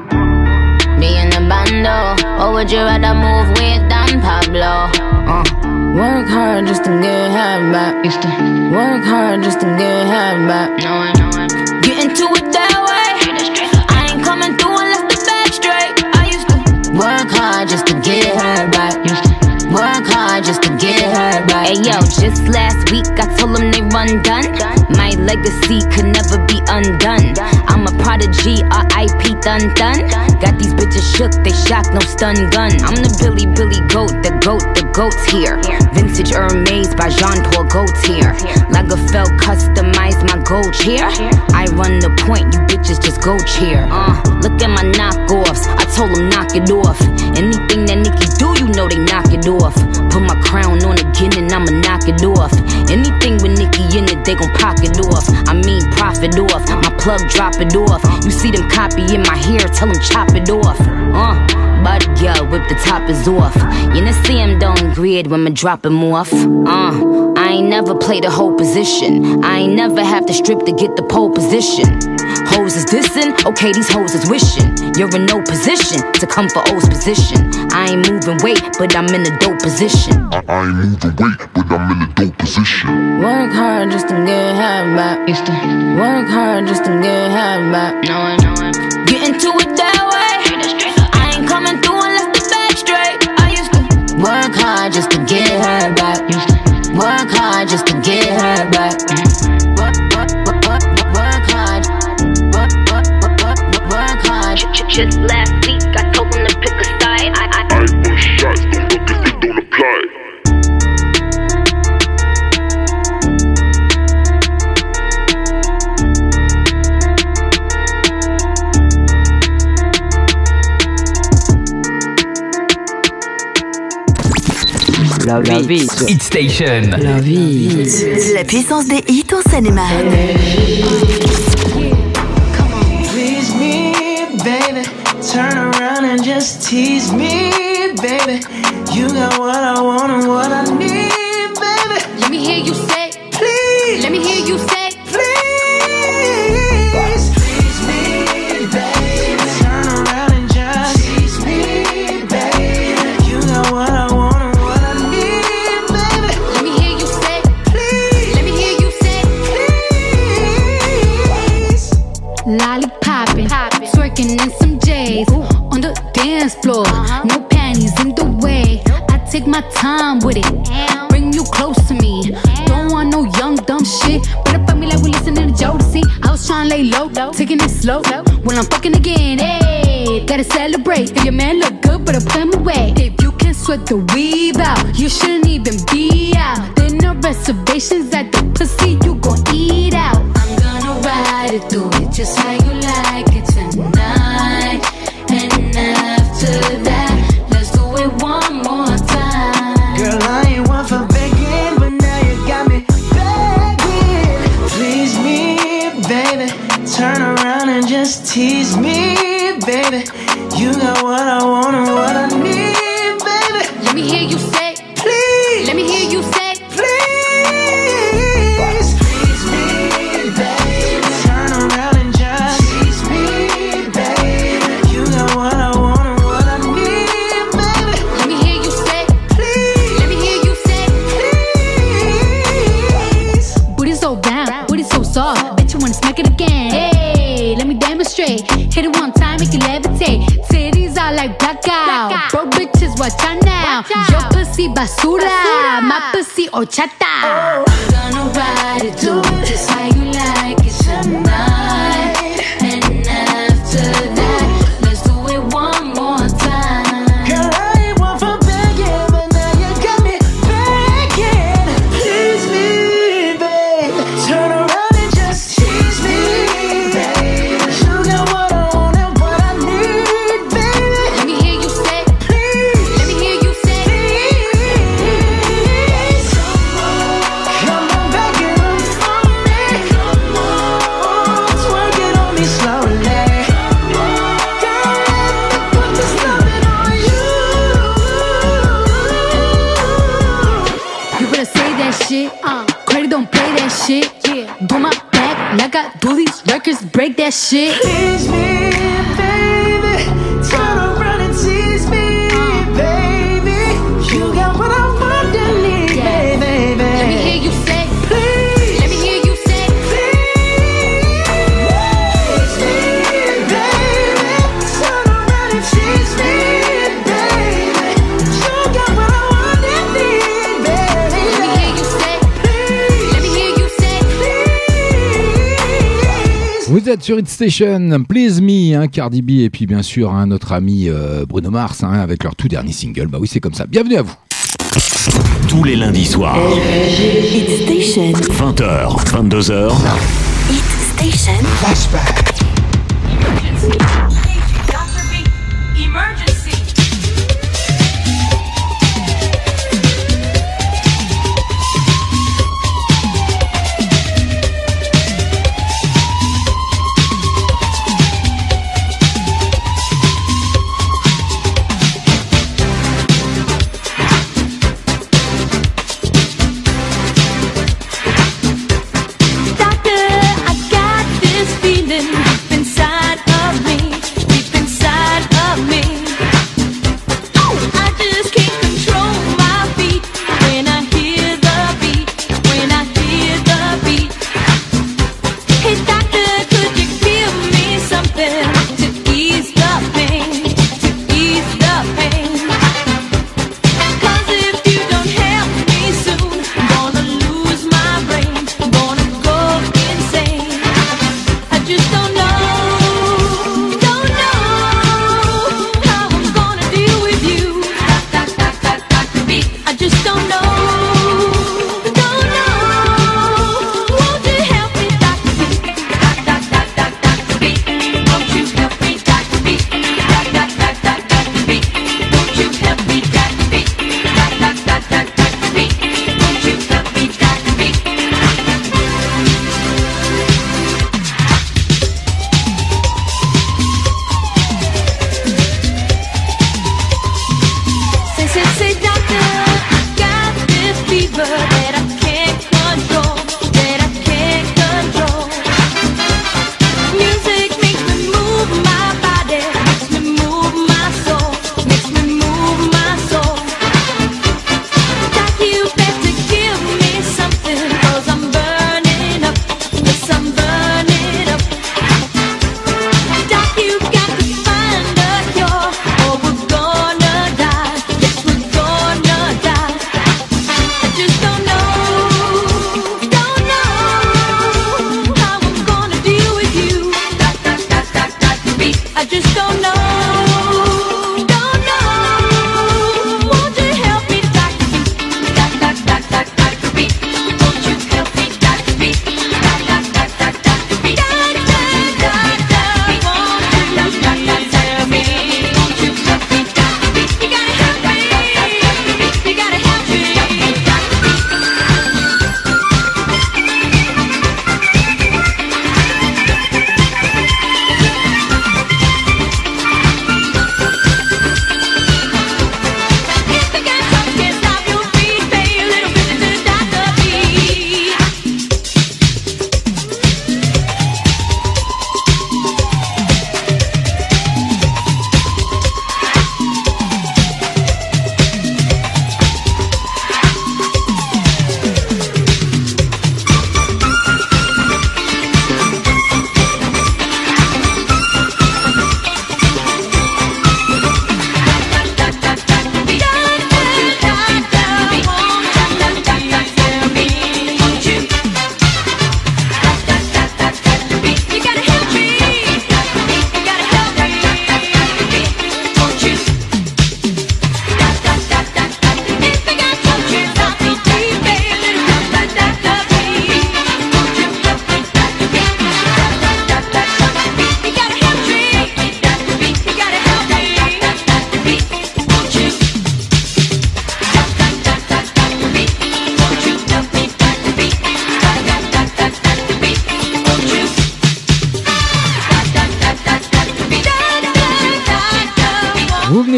Me in the bando, or would you rather move with Don Pablo? Work hard just to get half back. Work hard just to get half back. Get into it that way. I ain't coming through unless the back straight. I used to work hard just to get her back. Work hard just to get her back. Hey yo, just last week I told them they run done. My legacy could never be undone. I'm a prodigy, R.I.P. dun dun. Got these bitches shook, they shocked, no stun gun. I'm the Billy goat, the goat's here. Vintage Hermes by Jean-Paul Gaultier. Lagerfeld customized my gold chair. I run the point, you bitches just go cheer. Look at my knockoffs, I told them knock it off. Anything that Nicki do, you know they knock it off. Put my crown on again and I'ma knock it off. Anything with Nicki in it, they gon' pocket off. I mean profit off, my plug drop it off. You see them copying my hair, tell them chop it off. Body girl, whip the top is off. You know see him don't grid when me drop him off. I ain't never played a whole position. I ain't never have to strip to get the pole position. Hoes is dissing, okay these hoes is wishing. You're in no position to come for O's position. I ain't moving weight, but I'm in a dope position. I ain't moving weight, but I'm in a dope position. Work hard just to get half back. Work hard just to get half back. Get into it that way. I ain't coming through unless the back straight. I used to work hard just to get her back. Work hard just to get her back. Work hard. Work hard. Love It. Hit Station. Love It. La puissance des hits en Seine-et-Marne. Please me, baby. Turn around and just tease me, baby. You got what I want and what I need, baby. Let me hear you say, please. Let me hear you say, please. Please me, baby. Turn around and just tease me, baby. You got what I want and what I need, baby. Let me hear you say, please. Let me hear you say, please. Lollipopping, twerking in some J's on the dance floor. No panties in the way. I take my time with it. Bring you close to me. Don't want no young dumb shit. Better fuck me like we listening to Jodeci. I was trying to lay low, taking it slow. When I'm fucking again, hey, gotta celebrate. If your man look good, better put him away. If you can sweat the weave out, you shouldn't even be out. There no reservations at the pussy, you gon' eat out. I'm gonna ride it, do it just how you like it tonight. And after that, let's do it one more time. Girl, I ain't one for begging, but now you got me begging. Please me, baby. Turn around and just tease me, baby. You got what I want and what I need, baby. Let me hear you say, please. Let me hear you say, please. Please me, baby. Turn around and just tease me, baby. You got what I want and what I need, baby. Let me hear you say, please. Let me hear you say, please. Booty so round, booty so soft. Bet you wanna smack it again. Hey, let me demonstrate. Hit it one time, make it levitate. Titties are like blackout. Bro, bitches, watch out now. Your pussy basura, my pussy horchata. I'm gonna ride it, do it just how you like it tonight. And after that, let's do it one more time. Girl, I ain't one for begging, but now you got me begging. Please me, babe. Turn around and just tease me, babe. You got what I want and what I need, baby. Let me hear you say, please. Let me hear you say, please. Come on, begging them for me. Come on, twerk it on me slowly. Girl, let me put this loving on you. You better say that shit. Credit don't play that shit. Do my back like I do these records, break that shit. Tease me, baby. Turn around and tease me, baby. You got what I want and need, baby. Let me hear you say, please. Let me hear you say, please. Tease me, baby. Turn around and tease me, baby. You got what I want and need, baby. Let me hear you say, please. Let me hear you say, please. Vous êtes sur Hit Station, Please Me, hein, Cardi B et puis bien sûr notre ami Bruno Mars avec leur tout dernier single. Bah oui, c'est comme ça. Bienvenue à vous. Tous les lundis soirs. Hit Station. 20h, 22h. Hit Station. Flashback. Emergency. Dr. B. Emergency. Doctor, I got this feeling inside of me.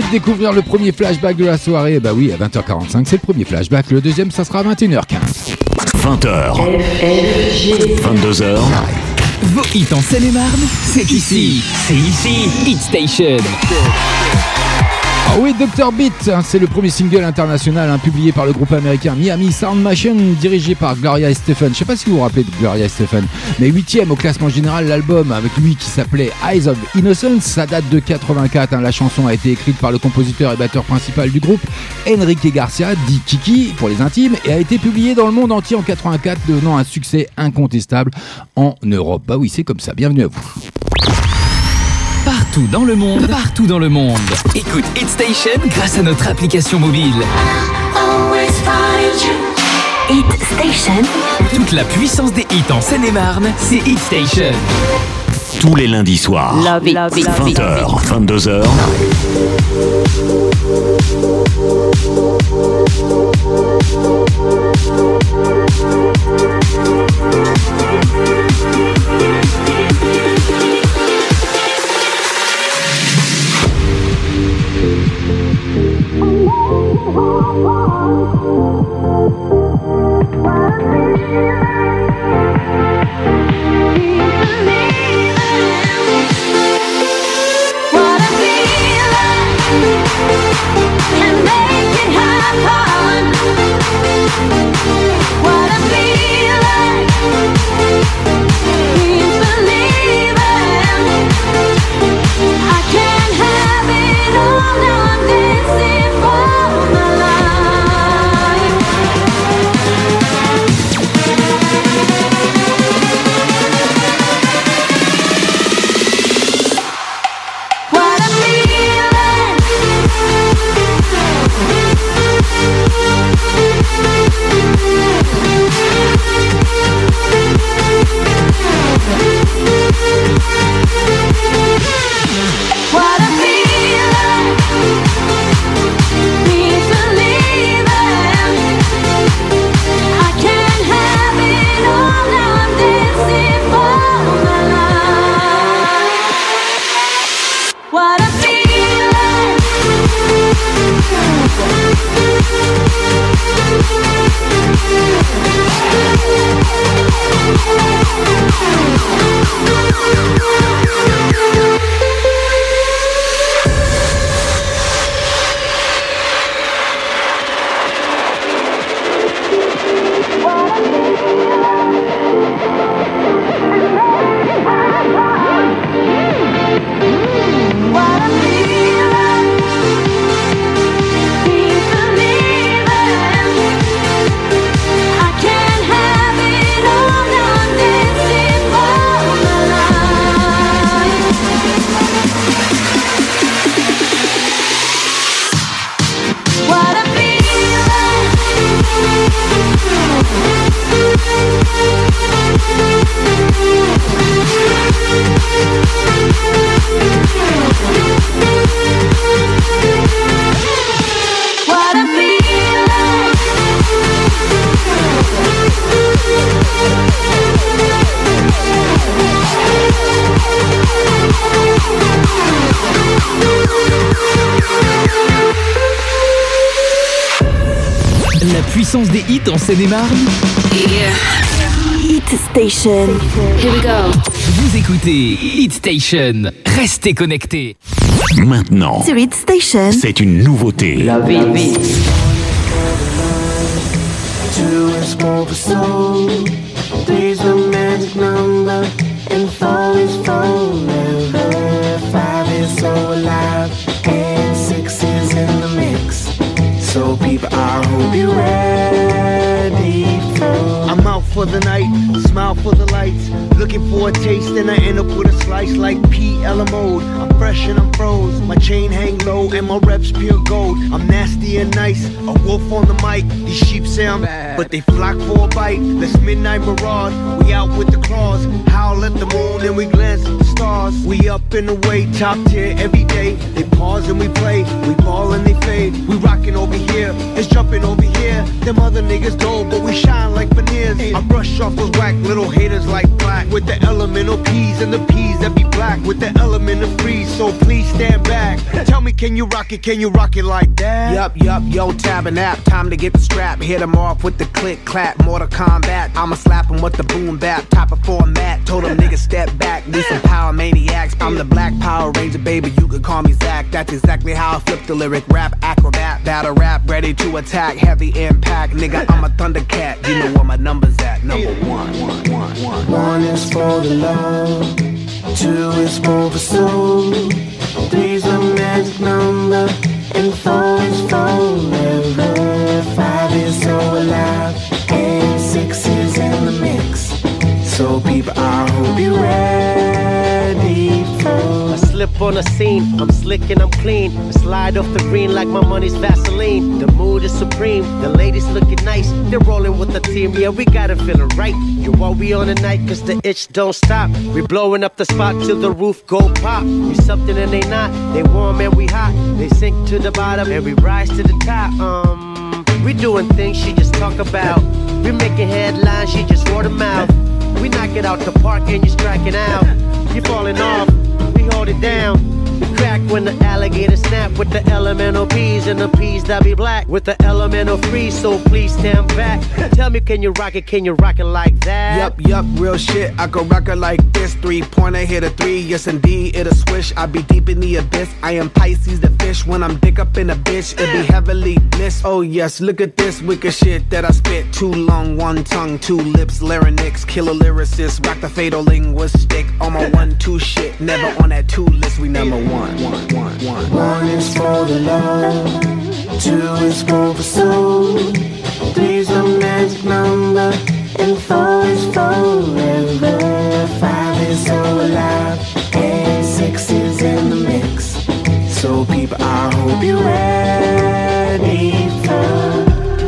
de découvrir le premier flashback de la soirée. Bah oui, à 20h45, c'est le premier flashback. Le deuxième, ça sera à 21h15. 20h. 22h. Vos hits en Seine-et-Marne, c'est ici. C'est ici. Hit Station. Ah oui, Dr Beat, c'est le premier single international publié par le groupe américain Miami Sound Machine, dirigé par Gloria Estefan. Je sais pas si vous vous rappelez de Gloria Estefan, mais 8e au classement général. L'album avec lui qui s'appelait Eyes of Innocence, ça date de 84. La chanson a été écrite par le compositeur et batteur principal du groupe, Enrique Garcia, dit Kiki pour les intimes, et a été publiée dans le monde entier en 84, devenant un succès incontestable en Europe. Bah oui, c'est comme ça. Bienvenue à vous. Partout dans le monde, écoute Hit Station grâce à notre application mobile. Hit Station. Toute la puissance des hits en Seine-et-Marne, c'est Hit Station. Tous les lundis soirs, 20h, 22h. La puissance des hits en Seine-et-Marne. Hit Station. Here we go. Vous écoutez Hit Station. Restez connectés. Maintenant, Sur Hit Station. c'est une nouveauté. Love it. Two is more for soul. Three's the magic number. And four is forever. Five is so alive. And six is in the mix. So people, I hope you're ready for. I'm out for the night, smile for the lights. Looking for a taste and I end up with a slice like PL mode. I'm fresh and I'm froze. My chain hang low and my reps pure gold. I'm nasty and nice, a wolf on the mic. These sheep say I'm bad, but they flock for a bite. Let's midnight maraud, we out with the claws. Howl at the moon and we glance at the stars. We up in the way, top tier every day. They pause and we play, we ball and they fade. We rockin' over here, it's jumping over here. Them other niggas dull, but we shine like veneers. I brush off those whack little haters like black. With the elemental P's and the P's that be black. With the element of freeze, so please stand back. Tell me, can you rock it like that? Yup, yo, tab and app, time to get the strap. Hit him off with the click, clap, Mortal Kombat. I'ma slap him with the boom bap, top of format. Told him niggas step back, need some power maniacs. I'm the Black Power Ranger, baby, you could call me Zach. That's exactly how I flip the lyric, rap, acrobat, battle rap, ready to attack, heavy impact. Nigga, I'm a Thundercat, you know where my number's at, number one. One is for the love, two is for the soul, three's the magic number, and four is forever. Five is so alive, and six is in the mix. So people, I hope you're ready for. I slip on the scene, I'm slick and I'm clean. I slide off the green like my money's Vaseline. The mood is supreme, the ladies looking nice. They're rolling with the team, yeah, we got it feeling right. You what we on tonight, cause the itch don't stop. We blowing up the spot till the roof go pop. You something and they not, they warm and we hot. They sink to the bottom and we rise to the top. We doing things she just talk about. We making headlines, she just word of mouth. We knock it out the park and you striking out. You falling off, we hold it down. We crack when the alligator snap with the elemental P's and the P's that be black with the elemental freeze. So please stand back. Tell me, can you rock it like that? Yup, real shit. I can rock it like this. 3-pointer hit a 3. Yes, indeed, it'll swish. I be deep in the abyss. I am Pisces, the fish. When I'm dick up in a bitch, it be heavily bliss. Oh yes, look at this wicked shit that I spit. Too long, one tongue, two lips, larynx, killer lyricist, rock the fatal linguistic. On my 1-2 shit, never on that 2 list. We number one. One is for the love, two is for the soul, three's the magic number, and four is forever. Five is so alive, and six is in the mix. So people, I hope you're ready for.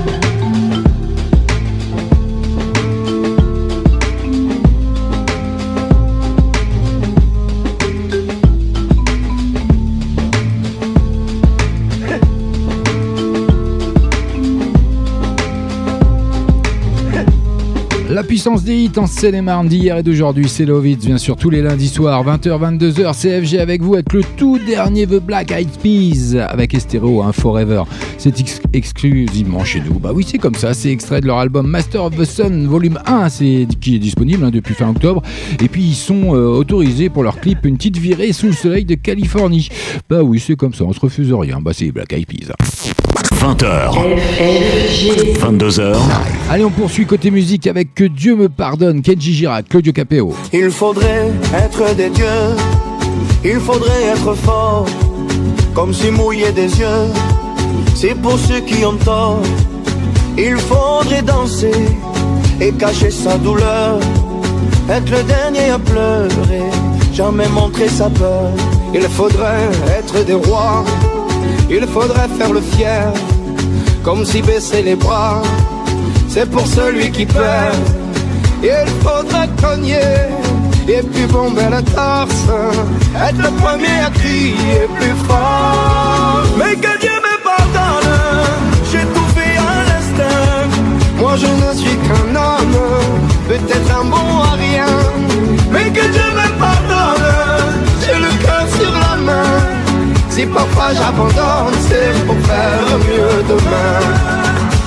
La puissance des hits en Seine-et-Marne d'hier et d'aujourd'hui, c'est Love It, bien sûr, tous les lundis soirs, 20h, 22h, CFG avec vous, avec le tout dernier The Black Eyed Peas, avec Estero, Forever. C'est exclusivement chez nous. Bah oui, c'est comme ça, c'est extrait de leur album Master of the Sun, volume 1, qui est disponible depuis fin octobre. Et puis, ils sont autorisés pour leur clip Une petite virée sous le soleil de Californie. Bah oui, c'est comme ça, on se refuse rien. Bah c'est Black Eyed Peas. 20h, 22h. Allez, on poursuit côté musique avec Que Dieu me pardonne, Kenji Girac, Claudio Capéo. Il faudrait être des dieux, il faudrait être fort, comme si mouiller des yeux, c'est pour ceux qui ont tort. Il faudrait danser et cacher sa douleur, être le dernier à pleurer, jamais montrer sa peur. Il faudrait être des rois, il faudrait faire le fier, comme si baisser les bras, c'est pour celui qui perd. Il faudrait cogner et puis bomber la torse, être le premier à crier plus fort. Mais que Dieu me pardonne, j'ai tout fait à l'instinct. Moi je ne suis qu'un homme, peut-être un bon à rien. Mais que Dieu me pardonne, j'ai le cœur sur la main. Si parfois j'abandonne, c'est pour faire mieux demain.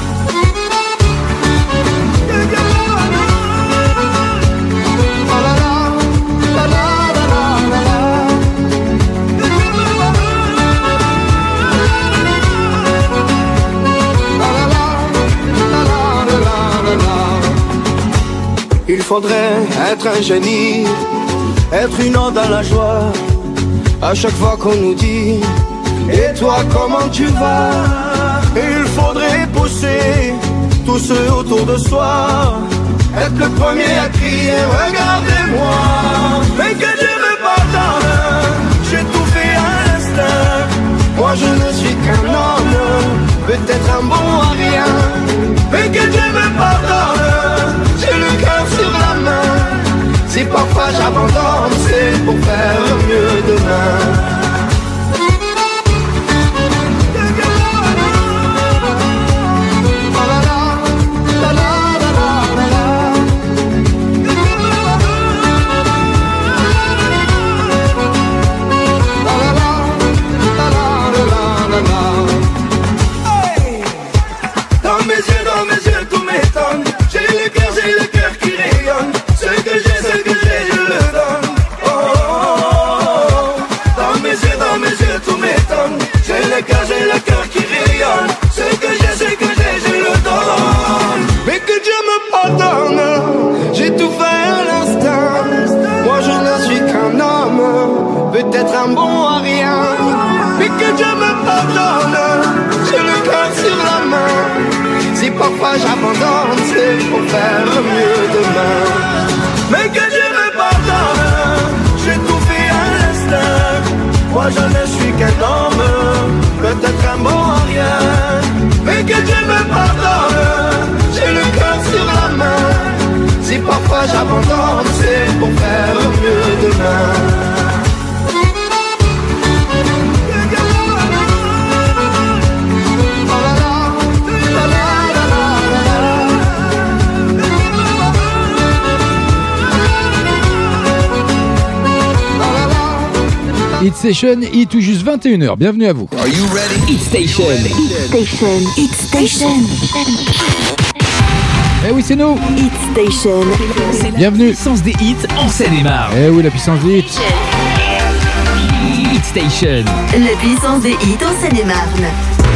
Il faudrait être un génie, être une ode à la joie. À chaque fois qu'on nous dit et toi comment tu vas, il faudrait pousser tous ceux autour de soi, être le premier à crier regardez-moi. Mais que Dieu me pardonne, j'ai tout fait à l'instinct. Moi je ne suis qu'un homme, peut-être un bon à rien. Mais que Dieu me pardonne, j'ai le cœur sur la main. Si parfois j'abandonne, c'est pour faire mieux demain. Oh là là. parfois j'abandonne, c'est pour faire mieux demain. Mais que Dieu me pardonne, j'ai tout fait à l'instinct. Moi je ne suis qu'un homme, peut-être un bon à rien. Mais que Dieu me pardonne, j'ai le cœur sur la main. Si parfois j'abandonne, c'est pour faire mieux demain. Hit Station, hit tout juste 21h. Bienvenue à vous. Are you ready? Hit Station. Hit Station. Eh oui, c'est nous. Hit Station. Bienvenue. La puissance des hits en Seine-et-Marne. Eh oui, la puissance des hits. Hit Station. La puissance des hits en Seine-et-Marne.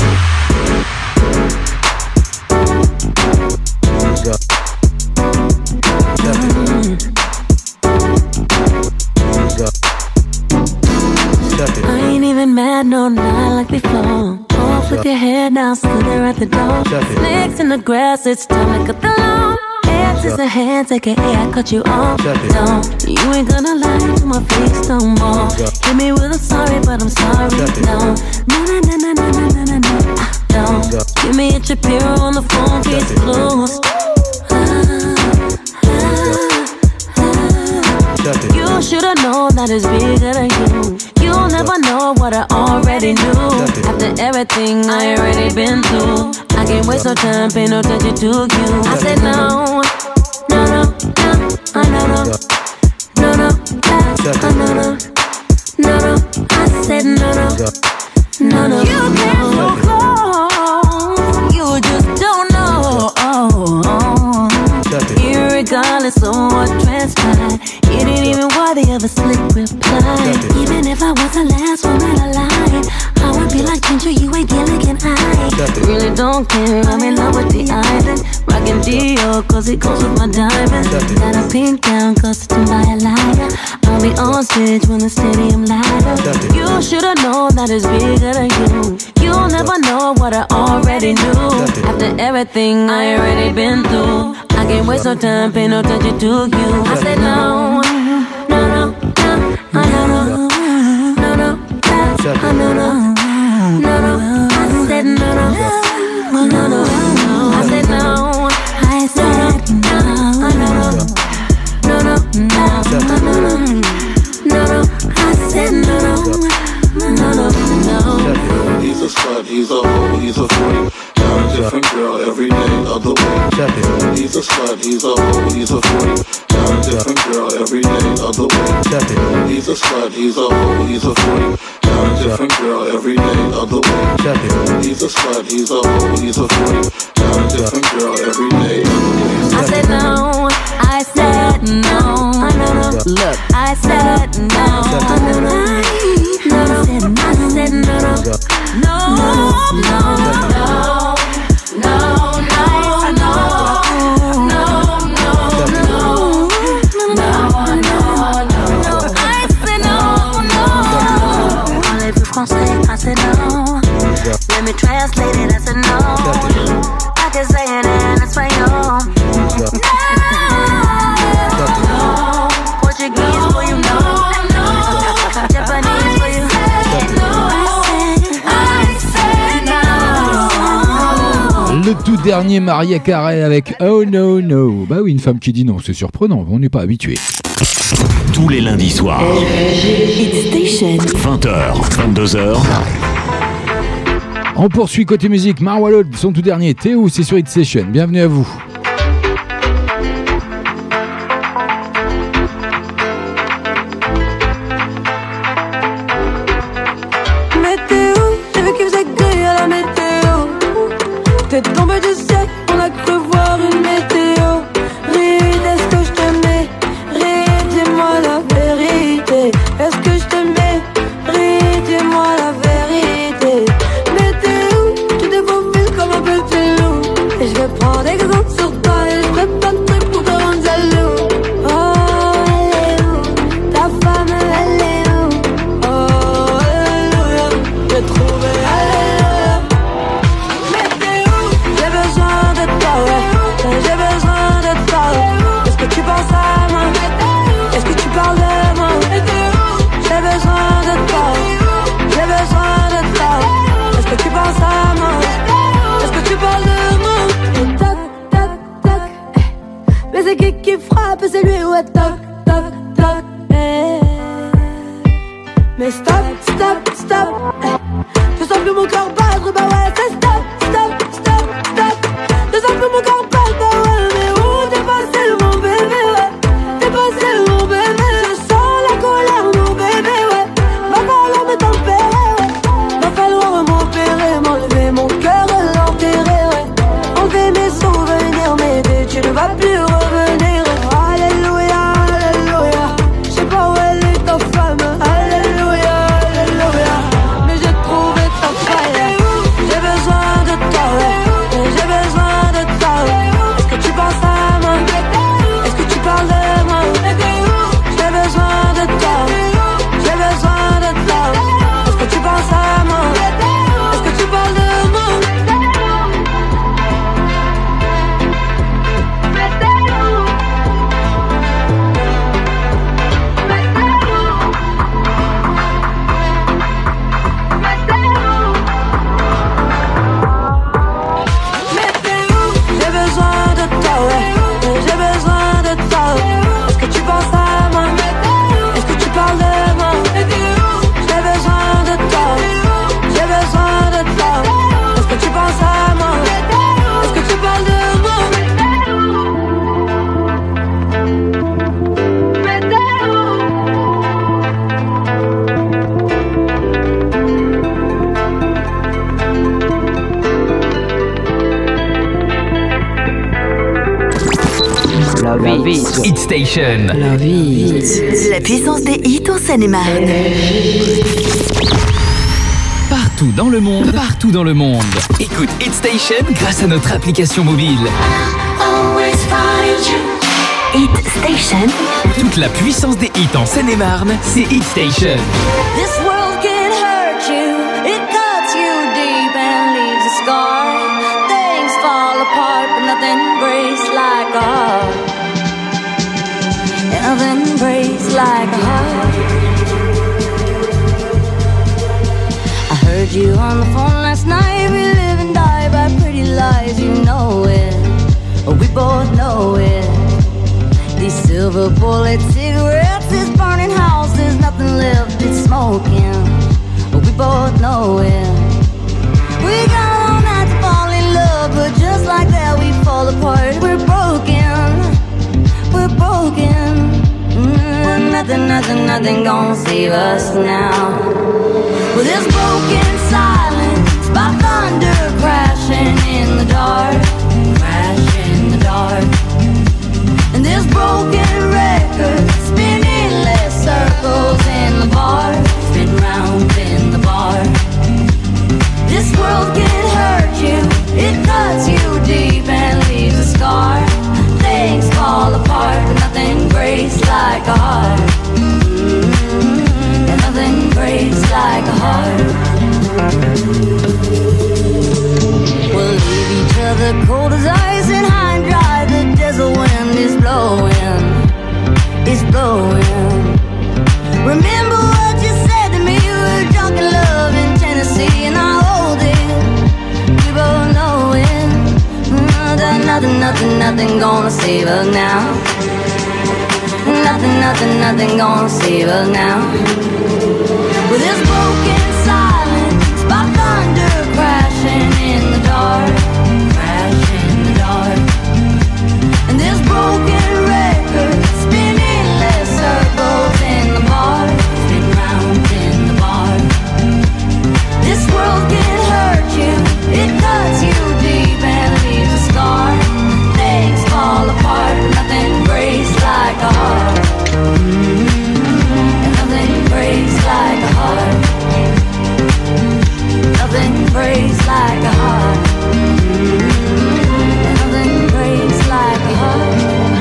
I ain't even mad, no, not like before. Off with your head now, still there at the door. Snakes in the grass, it's time to cut the lawn. Hands is a hands, aka I cut you off. Don't, you ain't gonna lie to my face no more. Hit me with a sorry, but I'm sorry, no. No, no, no, no, no, no, no, no. Don't, give me a Shapiro on the phone, case closed. You should've known that it's bigger than you. You'll never know what I already knew. After everything I already been through, I can't waste no time, pay no attention to you. I said no, no, no, no, no, no, no, no, no, no, no, no. I said no, no, no, no. You can't go close, you just don't know. Irregardless of what transpired, you didn't even worthy of a slick reply. Even if I was the last woman alive, I would be like Ginger, you ain't Gilligan. I really don't care, I'm in love with the island. Rockin' Dior, cause it goes with my diamonds. Got a pink gown, custom by a liar. I'll be on stage when the stadium light up. You should've known that it's bigger than you. You'll never know what I already knew. After everything I already been through, I can't waste no time, pay no attention to you. I said no, no, no, no, no, no, no, no, no, no, no. I said no, no, no, no, no. I said no, I said no, no, no, no, no, no. I said no, no, no, no. He's a slut, he's a hoe, he's a freak. Got a different girl every day of the week. He's a slut, he's a hoe, he's a freak. Got a different girl every day of the week. He's a slut, he's a hoe, he's a freak. Got a different girl every day of the week. He's a slut, he's a hoe, he's a freak. Got a different girl every day of the week. I said no, I said no, no, no. Look, I said no, no, no, no. I said no, no, no, no, no. I said no. Let me translate it. I said no. I can say it in Espanol. No. Portuguese for you know. Japanese for you. I said no. Le tout dernier Mariah Carey avec Oh No No. Bah oui, une femme qui dit non, c'est surprenant, on n'est pas habitué. Tous les lundis soirs. Hit Station. 20h, 22h. On poursuit côté musique. Marwa Loud, son tout dernier. Théo, c'est sur Hit Station. Bienvenue à vous. Météo, j'ai vu qu'il faisait gris à la météo. T'es tombé du ciel, on a cru voir une météo. Ride, est-ce que je t'aimais? Ride, dis-moi la vérité. Est-ce que je t'aimais? Ride, dis-moi la vérité. Météo, tu défaufiles comme un petit loup. Et je vais prendre exemple sur toi et je ferai plein de trucs pour te rendre jaloux. Oh, elle est où? Ta femme, elle est où? Oh, alléluia, j'ai trouvé, alléluia. Météo, j'ai besoin de c'est qui frappe, c'est lui, ouais, toc, toc, toc, eh. Mais stop, stop, stop, eh. Je sens plus mon corps battre, bah ouais, c'est stop, stop, stop, stop. Je sens plus mon corps battre, bah ouais, mais où t'es passé mon bébé, ouais. T'es passé mon bébé, je sens la colère, mon bébé, ouais. Va falloir me tempérer, ouais. Va falloir m'opérer, m'enlever mon cœur et l'enterrer, ouais. Enlever mes souvenirs, m'aider, tu ne vas plus revenir. Alléluia, alléluia. Je sais pas où elle est ta femme. Alléluia, alléluia. Mais j'ai trouvé ta faille. J'ai besoin de toi, ouais. J'ai besoin de toi, ouais. Est-ce que tu penses à moi? Est-ce que tu parles de moi? J'ai besoin de toi. J'ai besoin de toi. Est-ce que tu penses à moi? Est-ce que tu parles de moi? J'ai besoin de toi, ouais. J'ai besoin de toi. Est-ce que tu penses à moi? Est-ce que tu parles de moi? J'ai besoin de toi. J'ai besoin de toi. Est-ce que tu penses à moi? Est-ce que tu parles de moi? Love It. Hit Station. Love It. La puissance des hits en Seine-et-Marne. Partout dans le monde. Écoute Hit Station grâce à notre application mobile. Hit Station. Toute la puissance des hits en Seine-et-Marne, c'est Hit Station. This world can hurt you, it cuts you deep and leaves a scar. Things fall apart, but nothing breaks like a heart. And nothing breaks like a heart. I heard you on the phone last night. We live and die by pretty lies, you know it. We both know it. These silver bullet cigarettes, this burning house, there's nothing left, it's smoking. We both know it. We got all night to fall in love, but just like that we fall apart. We're broken, we're broken. Nothing gonna save us now. Well, there's broken silence by thunder crashing in the dark, crashing in the dark. And there's broken records spinning less circles in the bar, spin round in the bar. This world can hurt you, it cuts you deep and leaves a scar. Things fall apart, but nothing breaks like a heart. And nothing breaks like a heart. We'll leave each other cold as ice and high and dry. The desert wind is blowing, it's blowing. Remember what you said to me, we were drunk in love in Tennessee, and I hold it, we both know it. Nothing gonna save us now. Nothing gonna save us now. Well, there's broken silence by thunder crashing in the dark, crashing in the dark. And there's broken records spinning less circles in the bar, spin round in the bar. This world can hurt you, it cuts you deep and leaves a scar. Things fall apart, but nothing breaks like a heart. And nothing breaks like a heart. Nothing breaks like a heart. And nothing breaks like a heart.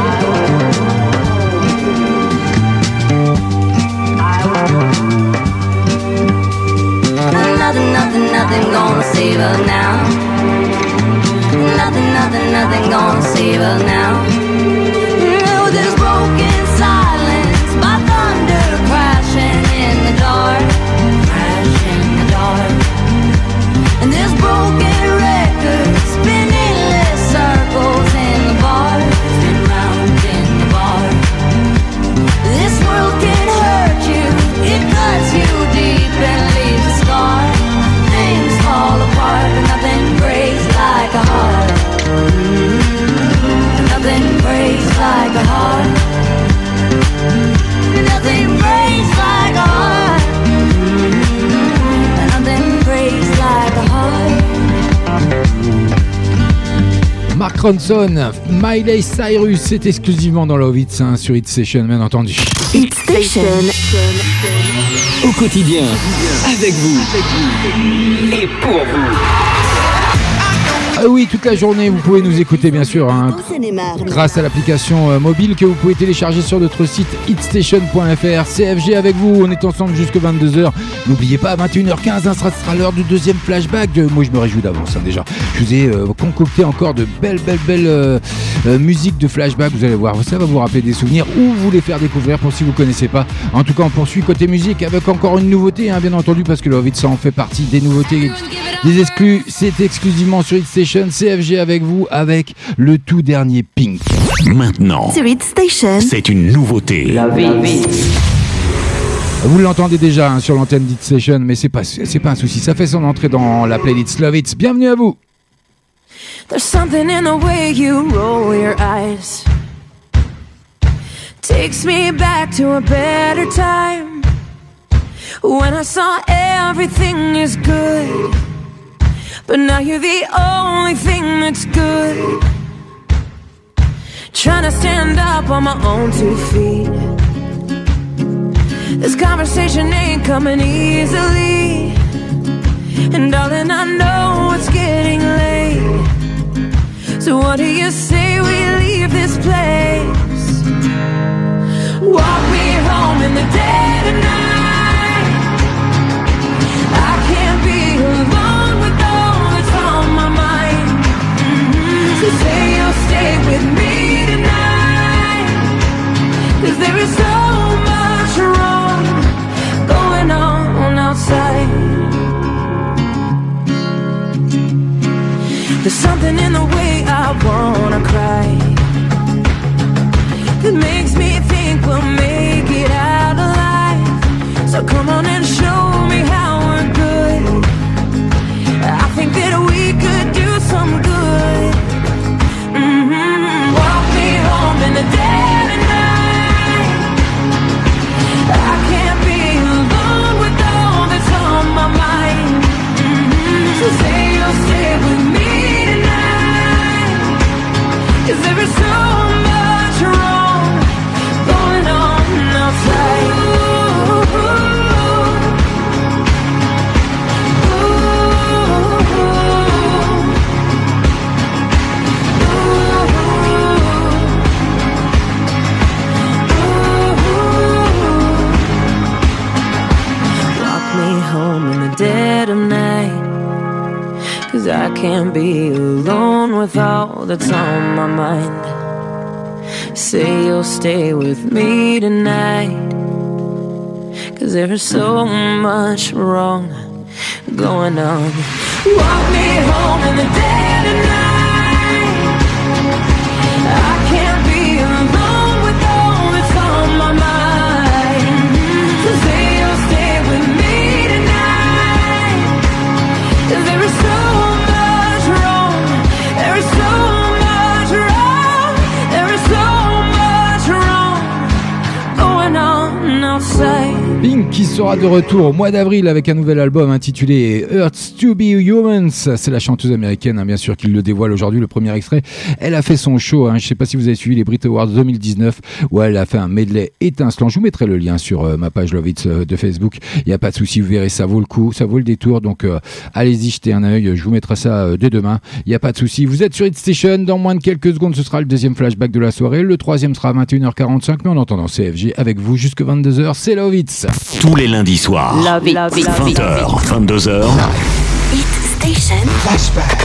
Nothing gonna save us now. Nothing gonna save us now. No, there's broken silence by thunder crashing in the dark, crashing in the dark. And there's broken records spinning less circles in the bar, spin round Mark Ronson, Miley Cyrus, c'est exclusivement dans Love Hits sur Hit Station, bien entendu. Hit Station. Au quotidien, avec vous et pour vous. Ah oui, toute la journée, vous pouvez nous écouter bien sûr grâce à l'application mobile que vous pouvez télécharger sur notre site hitstation.fr. CFG avec vous, on est ensemble jusqu'à 22h. N'oubliez pas, à 21h15, ça sera l'heure du deuxième flashback. Moi, je me réjouis d'avance déjà. Je vous ai concocté encore de belles musiques de flashback. Vous allez voir, ça va vous rappeler des souvenirs ou vous les faire découvrir pour si vous ne connaissez pas. En tout cas, on poursuit côté musique avec encore une nouveauté, bien entendu, parce que Love It, ça en fait partie des nouveautés, des exclus. C'est exclusivement sur Hit Station. CFG avec vous, avec le tout dernier Pink. Maintenant, Sur Hit Station, c'est une nouveauté. Love It. Vous l'entendez déjà sur l'antenne d'Hit Station, mais c'est pas un souci. Ça fait son entrée dans la playlist Love It. Bienvenue à vous. There's something in the way you roll your eyes. Takes me back to a better time when I saw everything is good. But now you're the only thing that's good. Trying to stand up on my own 2 feet. This conversation ain't coming easily. And darling, I know it's getting late. So what do you say we leave this place? Walk me home in the dead of night. I can't be alone with all that's on my mind. So say you'll stay with me tonight. 'Cause there is so much wrong going on outside. There's something in the way I wanna cry that makes me think we'll make it out alive. So come on and show me how we're good. I think that we could do some good. Walk me home in the dead of night. I can't be alone with all that's on my mind. So say you'll stay with me. 'Cause there is so much wrong going on outside. Walk me home in the dead of night. 'Cause I can't be alone with all that's on my mind. Say you'll stay with me tonight. 'Cause there is so much wrong going on. Walk me home in the dead of night. I can't be alone with all that's on my mind. So say you'll stay with me tonight. 'Cause there is so much wrong. There is so much wrong. There is so much wrong going on outside. Pink qui sera de retour au mois d'avril avec un nouvel album intitulé Hurts to be Humans. C'est la chanteuse américaine, bien sûr, qui le dévoile aujourd'hui, le premier extrait. Elle a fait son show, je ne sais pas si vous avez suivi les Brit Awards 2019, où elle a fait un medley étincelant. Je vous mettrai le lien sur ma page Love It de Facebook. Il n'y a pas de souci, vous verrez, ça vaut le coup, ça vaut le détour. Donc allez-y, jetez un œil. Je vous mettrai ça dès demain. Il n'y a pas de souci. Vous êtes sur Hit Station. Dans moins de quelques secondes, ce sera le deuxième flashback de la soirée. Le troisième sera à 21h45. Mais en attendant, CFG avec vous jusqu'à 22h. C'est Love It. Tous les lundis soirs, Love It. 20h, 22h. Hit Station. Flashback.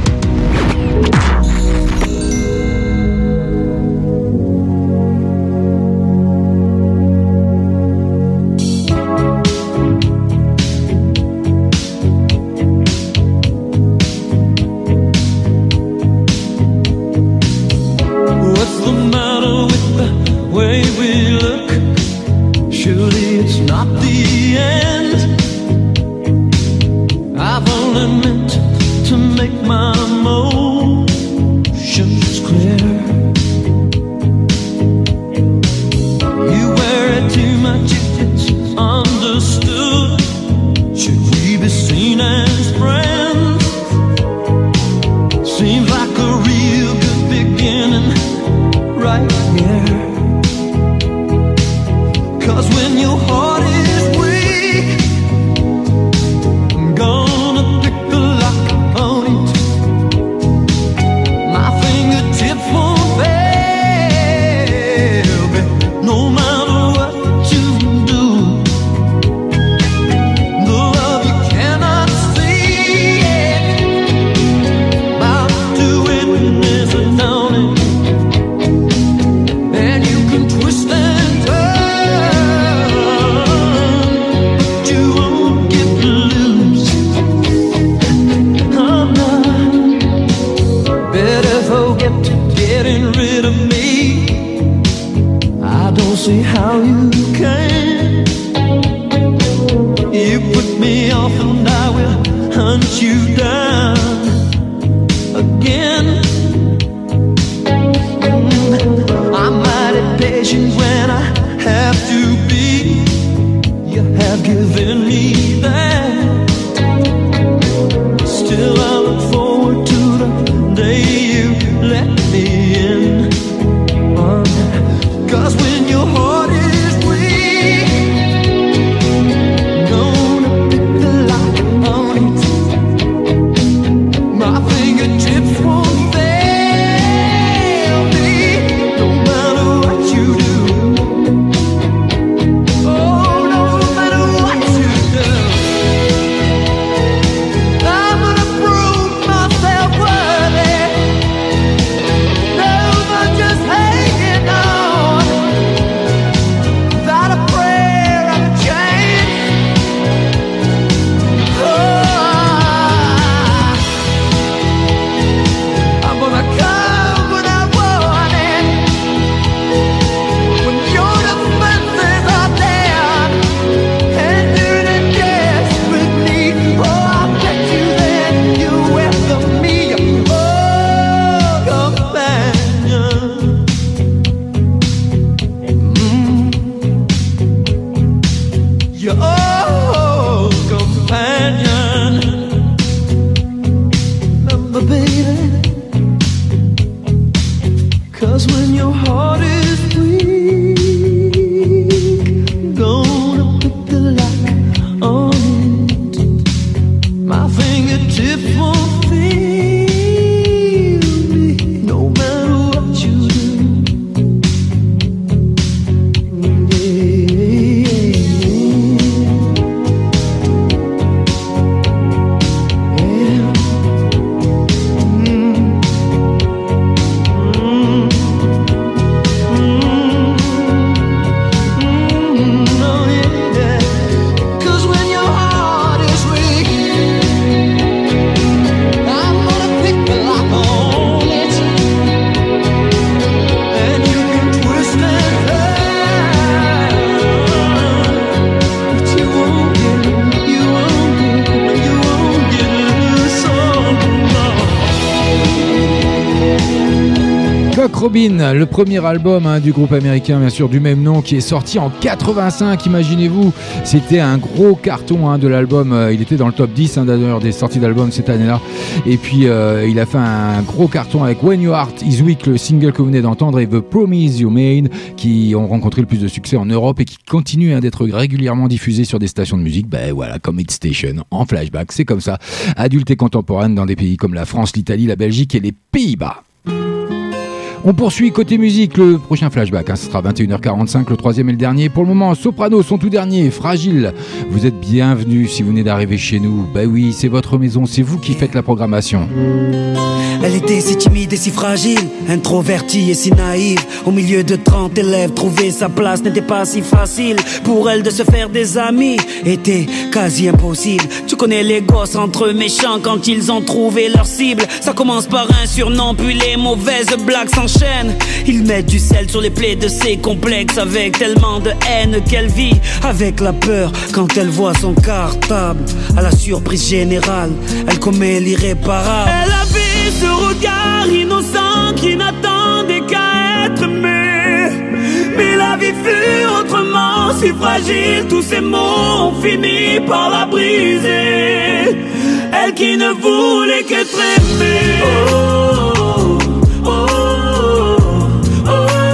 What's the matter with the way we look? Surely it's not the end. I've only meant to make my right here. 'Cause when your heart is weak, I'm gonna pick the lock on it. My fingertips won't fail me, no matter what you do. The love you cannot see, about to witness a dawning. And you can twist and turn, but you won't get loose. I'm not better forget getting rid of me. I don't see how you can. You put me off and I will hunt you down again. I'm mighty patient when I have to be. You have given me that. Still I look forward to the day you let me in. 'Cause when your heart is weak, gonna pick the lock on it. My fingertips won't fail me, no matter what you do. Oh, no matter what you do. I'm gonna prove myself worthy. No more just hanging on, without a prayer or a chance. I'm gonna come when I want it, when your defenses are there, and you're the desperately. Oh, I bet you then you welcome me, oh, companion. Your old companion. Remember, baby, 'cause when your heart is weak, gonna pick the lock on it. My fingertips won't feel me, no matter what you do. Cause when your heart is weak, I'm gonna pick the lock on it. And you can twist and turn, but you won't get loose on Cock Robin, le premier album du groupe américain, bien sûr, du même nom, qui est sorti en 85, imaginez-vous. C'était un gros carton de l'album, il était dans le top 10 d'ailleurs des sorties d'albums cette année-là. Et puis il a fait un gros carton avec When Your Heart Is Weak, le single que vous venez d'entendre, et The Promise You Made, qui ont rencontré le plus de succès en Europe et qui continuent d'être régulièrement diffusés sur des stations de musique, voilà, comme Hit Station, en flashback, c'est comme ça, adulte et contemporaine dans des pays comme la France, l'Italie, la Belgique et les Pays-Bas. On poursuit côté musique, le prochain flashback, ce sera 21h45, le troisième et le dernier. Pour le moment, Soprano, son tout dernier, Fragile. Vous êtes bienvenus si vous venez d'arriver chez nous. Oui, c'est votre maison, c'est vous qui faites la programmation. Elle était si timide et si fragile, introvertie et si naïve. Au milieu de 30 élèves, trouver sa place n'était pas si facile. Pour elle de se faire des amis était quasi impossible. Tu connais les gosses entre eux méchants quand ils ont trouvé leur cible. Ça commence par un surnom, puis les mauvaises blagues s'enchaînent. Ils mettent du sel sur les plaies de ses complexes, avec tellement de haine qu'elle vit avec la peur quand elle voit son cartable. À la surprise générale, elle commet l'irréparable. Elle avait ce regard innocent qui n'attendait qu'à être aimé. Mais la vie fut autrement, si fragile. Tous ces mots ont fini par la briser. Elle qui ne voulait qu'être aimée. Oh, oh, oh, oh.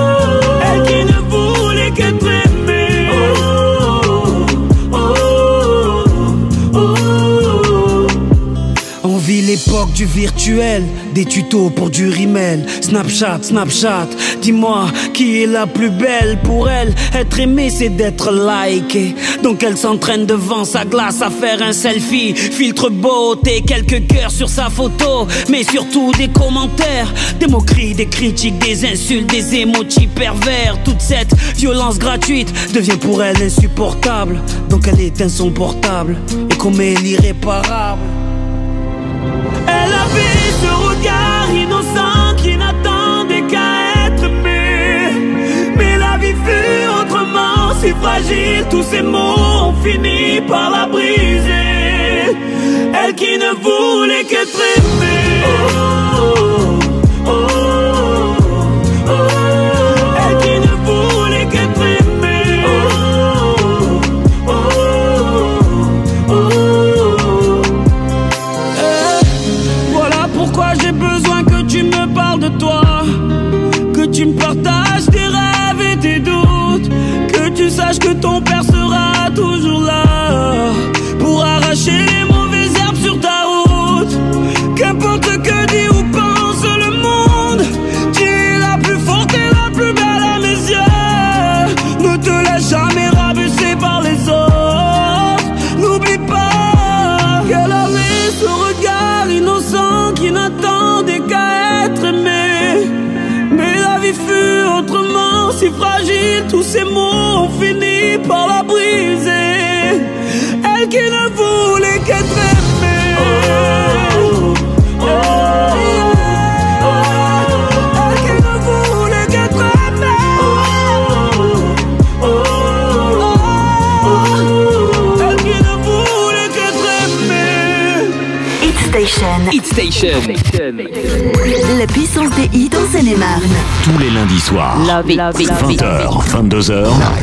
du virtuel, des tutos pour du rimel. Snapchat, dis-moi qui est la plus belle. Pour elle, être aimée c'est d'être likée. Donc elle s'entraîne devant sa glace à faire un selfie. Filtre beauté, quelques cœurs sur sa photo, mais surtout des commentaires, des moqueries, des critiques, des insultes, des emojis pervers. Toute cette violence gratuite devient pour elle insupportable. Donc elle éteint son portable et commet l'irréparable. Elle avait ce regard innocent qui n'attendait qu'à être aimé. Mais la vie fut autrement, si fragile. Tous ces mots ont fini par la briser. Elle qui ne voulait qu'être aimée. Oh, oh, oh, oh. Elle qui ne voulait qu'être aimée. Oh, oh, oh. Voilà pourquoi j'ai besoin que tu me parles de toi, que tu me partages tes rêves et tes doutes, que tu saches que ton père sera toujours là pour arracher les mauvaises herbes sur ta route. Qu'importe que dit ou pense le monde, tu es la plus forte et la plus belle à mes yeux. Ne te laisse jamais rabaisser par les autres. N'oublie pas qu'elle avait ce regard innocent qui n'attendait qu'à être aimé. Mais la vie fut autrement, si fragile. Tous ces mots ont fini par la briser. Elle qui ne voulait qu'être aimée. Oh, oh, oh. Elle qui ne voulait qu'être aimée. Oh, oh, oh. Elle qui ne voulait qu'être aimée. Hit Station. La puissance des hits en Seine-et-Marne. Tous les lundis soirs, 20h, 22h.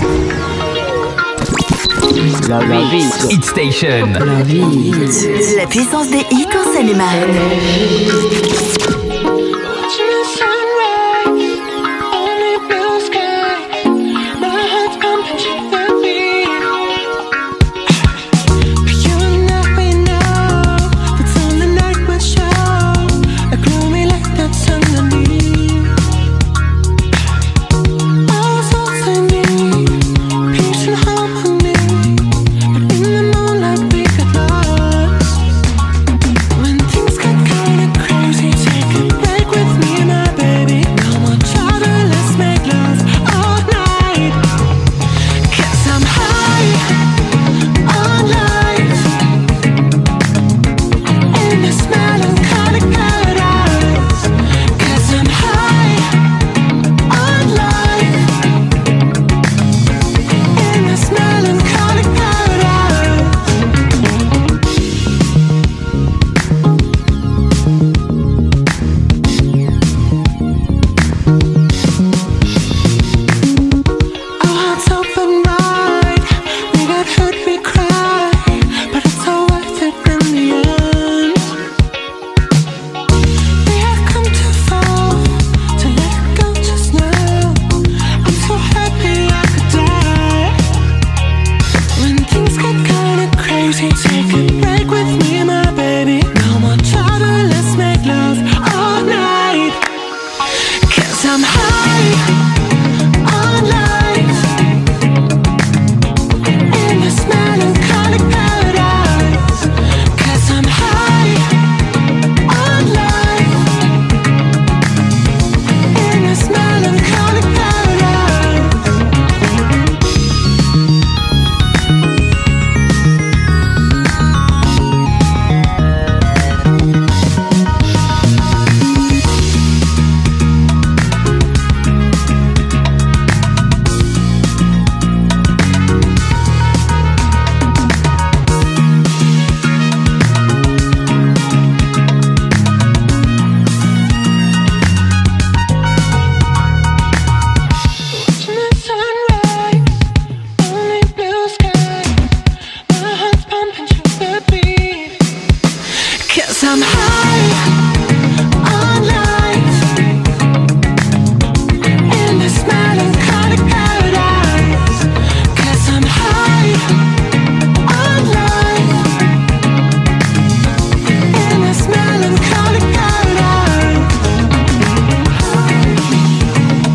Hit Station. La puissance des hits en Seine-et-Marne. When things get kinda crazy, take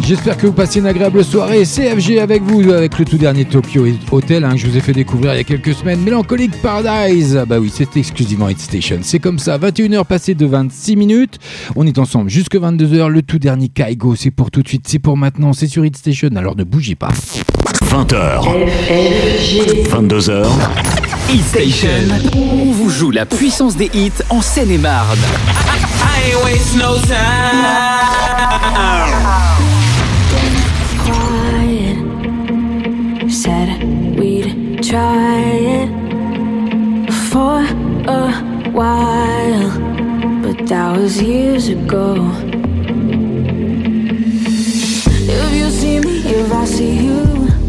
J'espère que vous passez une agréable soirée. CFG avec vous, avec le tout dernier Tokyo Hotel que je vous ai fait découvrir il y a quelques semaines. Melancholic Paradise. Bah oui, c'est exclusivement Hit Station. C'est comme ça, 21h passées de 26 minutes. On est ensemble jusque 22h. Le tout dernier Kaigo, c'est pour tout de suite, c'est pour maintenant, c'est sur Hit Station. Alors ne bougez pas. 20h. 22h. Hit Station. On vous joue la puissance des hits en Seine-et-Marne. I ain't waste no time. Said we'd try it for a while, but that was years ago. If you see me, if I see you,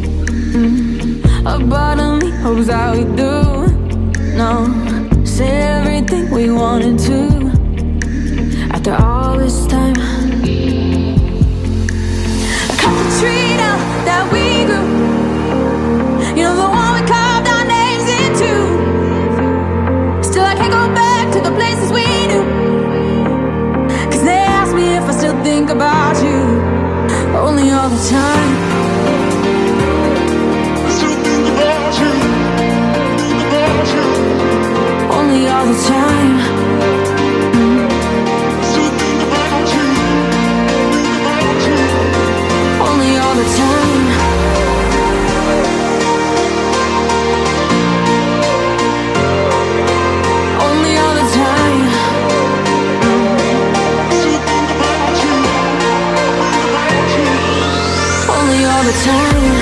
a part of me hopes that we do. No, say everything we wanted to. After all this time, I cut the tree down that we grew. You know the one we carved our names into. Still I can't go back to the places we knew. Cause they ask me if I still think about you. Only all the time. I still think about you. Think about you. Only all the time. I still think about you. Think about you. Only all the time. All the time.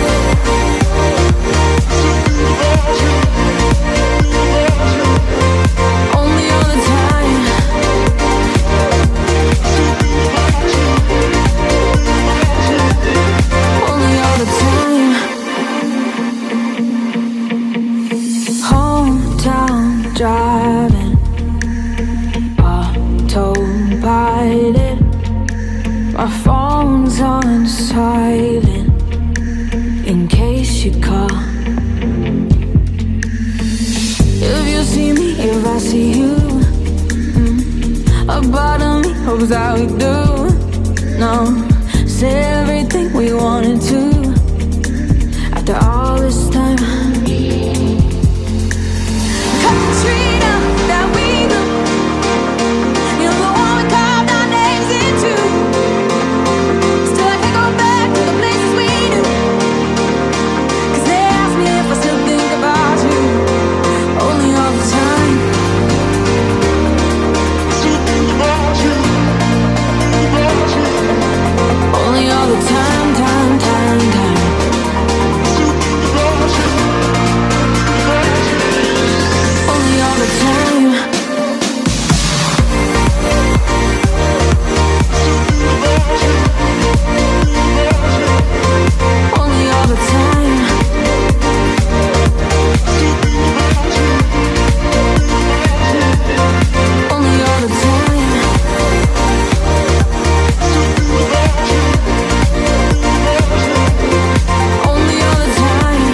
Only all the time. Only all the time. Hometown driving, autopilot. My phone's on silent in case you call. If you see me, if I see you, a part of me hopes that we do. No, say everything we wanted to. After all this time, cut the tree down that we grew. You know the one we carved our names into. Still I can't go back to the places we knew. Cause they ask me if I still think about you. Only all the time. I still think about you. Think about you. Only all the time, time, time, time. I still think about you. Think about you. Only all the time. Only all the time. Only all the time. Only all the time.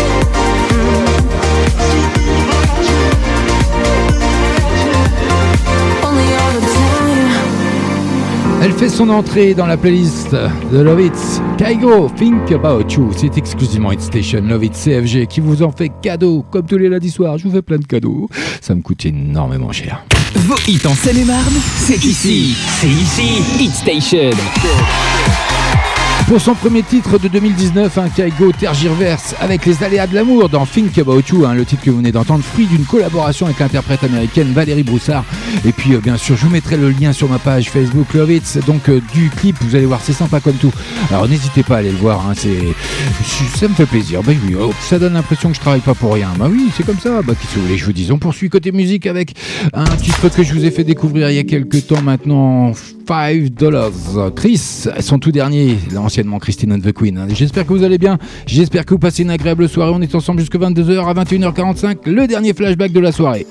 Only all the time. Elle fait son entrée dans la playlist de Love It. Kaigo, Think About You. C'est exclusivement Hit Station Love It CFG qui vous en fait cadeau. Comme tous les lundis soirs, je vous fais plein de cadeaux. Ça me coûte énormément cher. Vos hits en Seine-et-Marne, c'est ici. C'est ici. Hit Station. Pour son premier titre de 2019, Kaigo tergiverse avec les aléas de l'amour dans Think About You, le titre que vous venez d'entendre, fruit d'une collaboration avec l'interprète américaine Valérie Broussard. Et puis bien sûr, je vous mettrai le lien sur ma page Facebook Love It, donc du clip, vous allez voir, c'est sympa comme tout. Alors n'hésitez pas à aller le voir, ça me fait plaisir. Bah oui, ça donne l'impression que je travaille pas pour rien. Bah oui, c'est comme ça. Bah qu'est-ce que vous voulez que je vous dise. On poursuit côté musique avec un titre que je vous ai fait découvrir il y a quelques temps maintenant, $5. Chris, son tout dernier, anciennement Christine and the Queen. J'espère que vous allez bien, j'espère que vous passez une agréable soirée. On est ensemble jusqu'à 22h à 21h45, le dernier flashback de la soirée.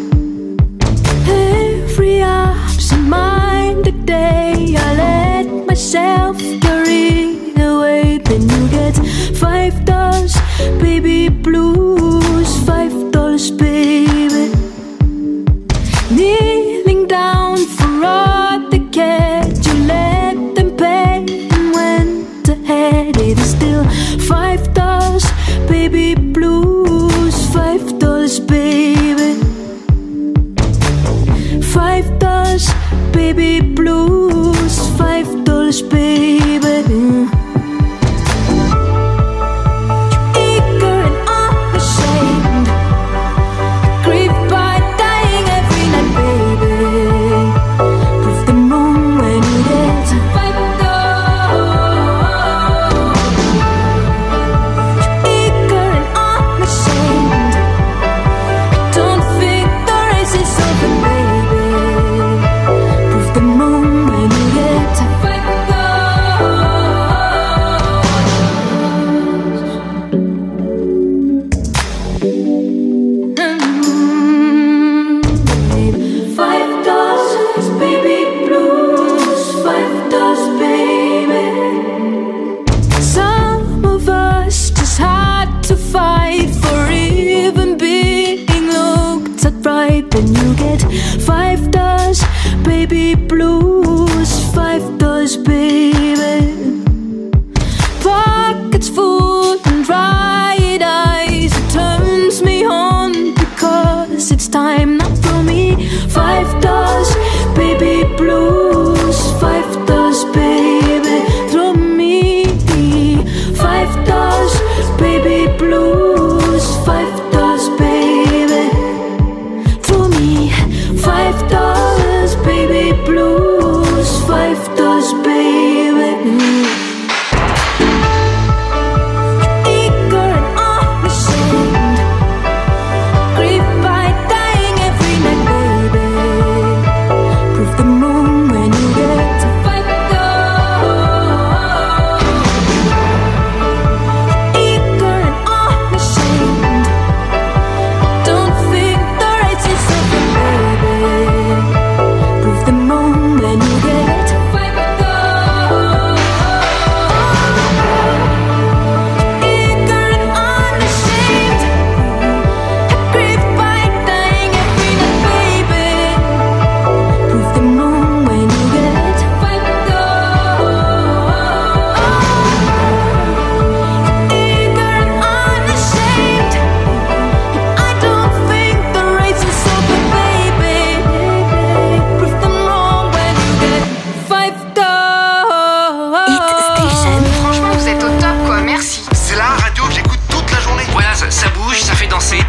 Every absent minded day I let myself carried away. Then you get $5, baby blues, $5, baby. Kneeling down for all the cash you let them pay. And when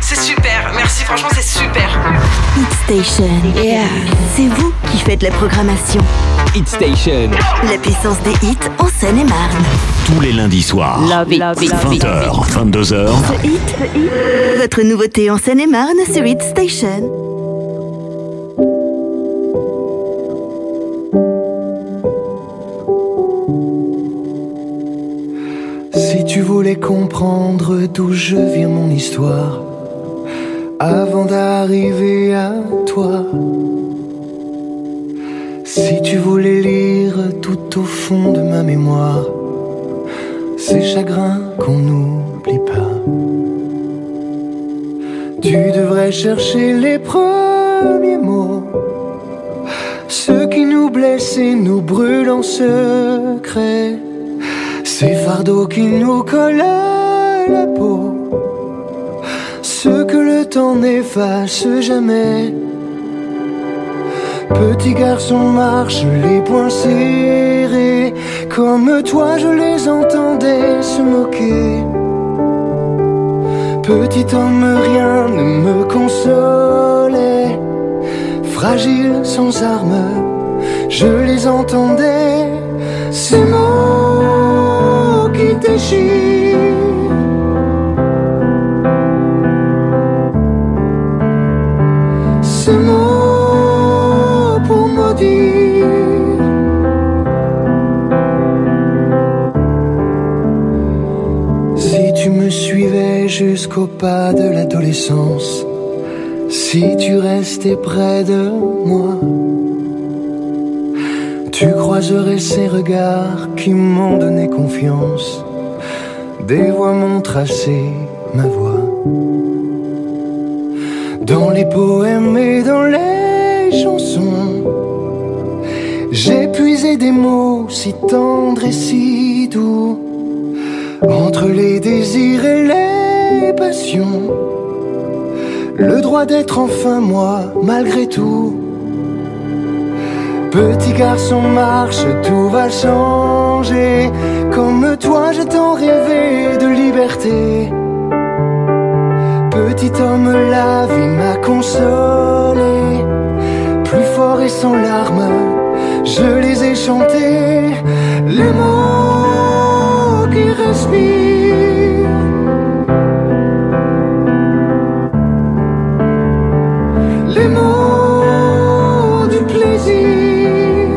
c'est super. Merci, franchement, c'est super. Hit Station, yeah. C'est vous qui faites la programmation. Hit Station, la puissance des hits en Seine-et-Marne. Tous les lundis soirs, 20h, 22h. The Hit, votre nouveauté en Seine-et-Marne sur Hit Station. Si tu voulais comprendre d'où je viens, mon histoire, avant d'arriver à toi, si tu voulais lire tout au fond de ma mémoire ces chagrins qu'on n'oublie pas, tu devrais chercher les premiers mots, ceux qui nous blessent et nous brûlent en secret, ces fardeaux qui nous collent à la peau, ceux que le temps n'efface jamais. Petit garçon marche les poings serrés, comme toi je les entendais se moquer. Petit homme, rien ne me consolait, fragile sans armes, je les entendais, ces mots qui déchirent. Ces mots pour maudire. Si tu me suivais jusqu'au pas de l'adolescence, si tu restais près de moi, tu croiserais ces regards qui m'ont donné confiance, des voix m'ont tracé ma voix. Dans les poèmes et dans les chansons, j'ai puisé des mots si tendres et si doux, entre les désirs et les passions, le droit d'être enfin moi malgré tout. Petit garçon marche, tout va changer, comme toi j'ai tant rêvé de liberté. Petit homme, la vie m'a consolé, plus fort et sans larmes, je les ai chantés, les mots qui respirent. Les mots du plaisir.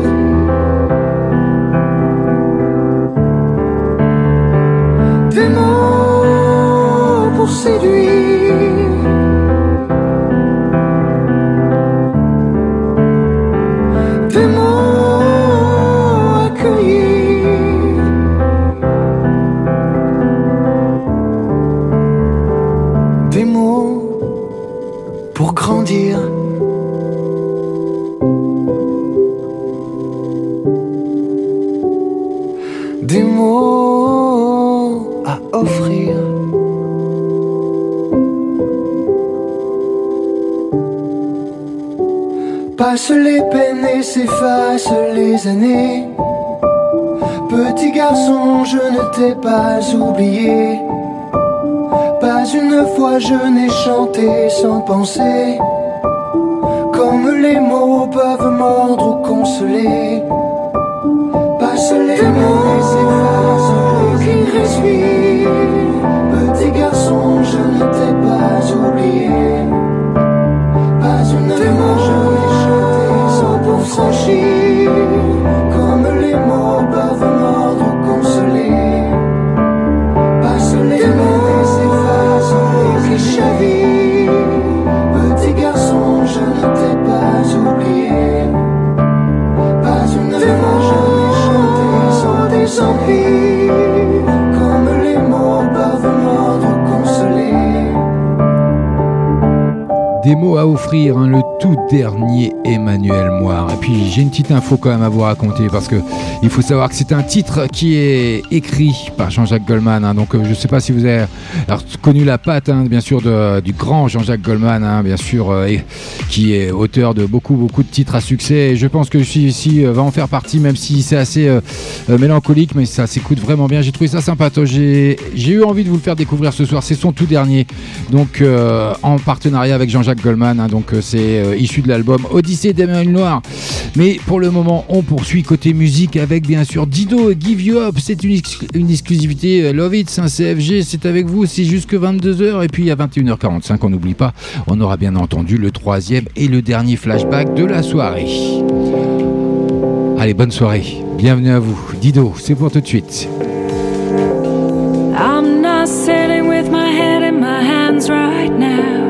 Des mots pour séduire. Des mots accueillir. Des mots pour grandir. Des mots à offrir. Passe les peines et s'effacent les années. Petit garçon, je ne t'ai pas oublié. Pas une fois je n'ai chanté sans penser, comme les mots peuvent mordre ou consoler. Passe les mots et s'effacent qui respirent. Petit garçon, je ne t'ai pas oublié. Pas une fois je n'ai chanté sans pour franchir, comme les mots peuvent mordre ou consoler. Passe les mots et s'effacent qui chavirent. Petit garçon, je ne t'ai pas oublié. Pas une fois je n'ai chanté sans des empires, comme les mots peuvent mordre ou consoler. des mots à offrir, hein, le tout dernier Emmanuel Moir. Et puis j'ai une petite info quand même à vous raconter, parce que il faut savoir que c'est un titre qui est écrit par Jean-Jacques Goldman, hein. Donc je ne sais pas si vous avez connu la patte, hein, bien sûr, du grand Jean-Jacques Goldman, hein, bien sûr, qui est auteur de beaucoup de titres à succès. Et je pense que celui-ci va en faire partie, même si c'est assez mélancolique, mais ça s'écoute vraiment bien. J'ai trouvé ça sympa. J'ai eu envie de vous le faire découvrir ce soir. C'est son tout dernier, donc en partenariat avec Jean-Jacques Goldman, hein, donc c'est issu de l'album Odyssée d'Emmanuel Moir. Mais pour le moment, on poursuit côté musique avec bien sûr Dido, Give You Up. C'est une exclusivité Love It, un CFG, c'est avec vous, c'est jusque 22h. Et puis à 21h45, on n'oublie pas, on aura bien entendu le troisième et le dernier flashback de la soirée. Allez, bonne soirée, bienvenue à vous. Dido, c'est pour tout de suite. I'm not sitting with my head in my hands right now.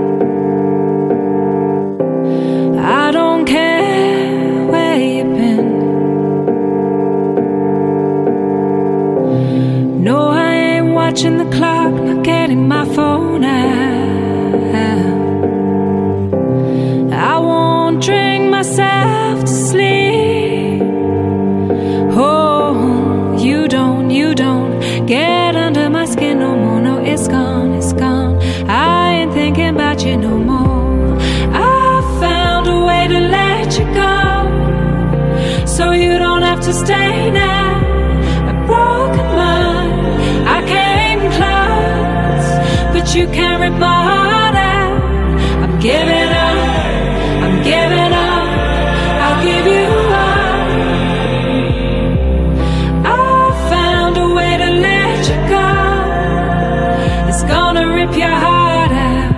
I don't care where you've been. No, I ain't watching the clock, not getting my phone out. I won't drink myself to sleep. Oh, you don't get under my skin no more. No, it's gone, it's gone. I ain't thinking about you no more. I found a way to let you go, so you don't have to stay now. A broken mind, I came close, but you can't rip my heart out. I'm giving up, I'm giving up, I'll give you up. I found a way to let you go, it's gonna rip your heart out.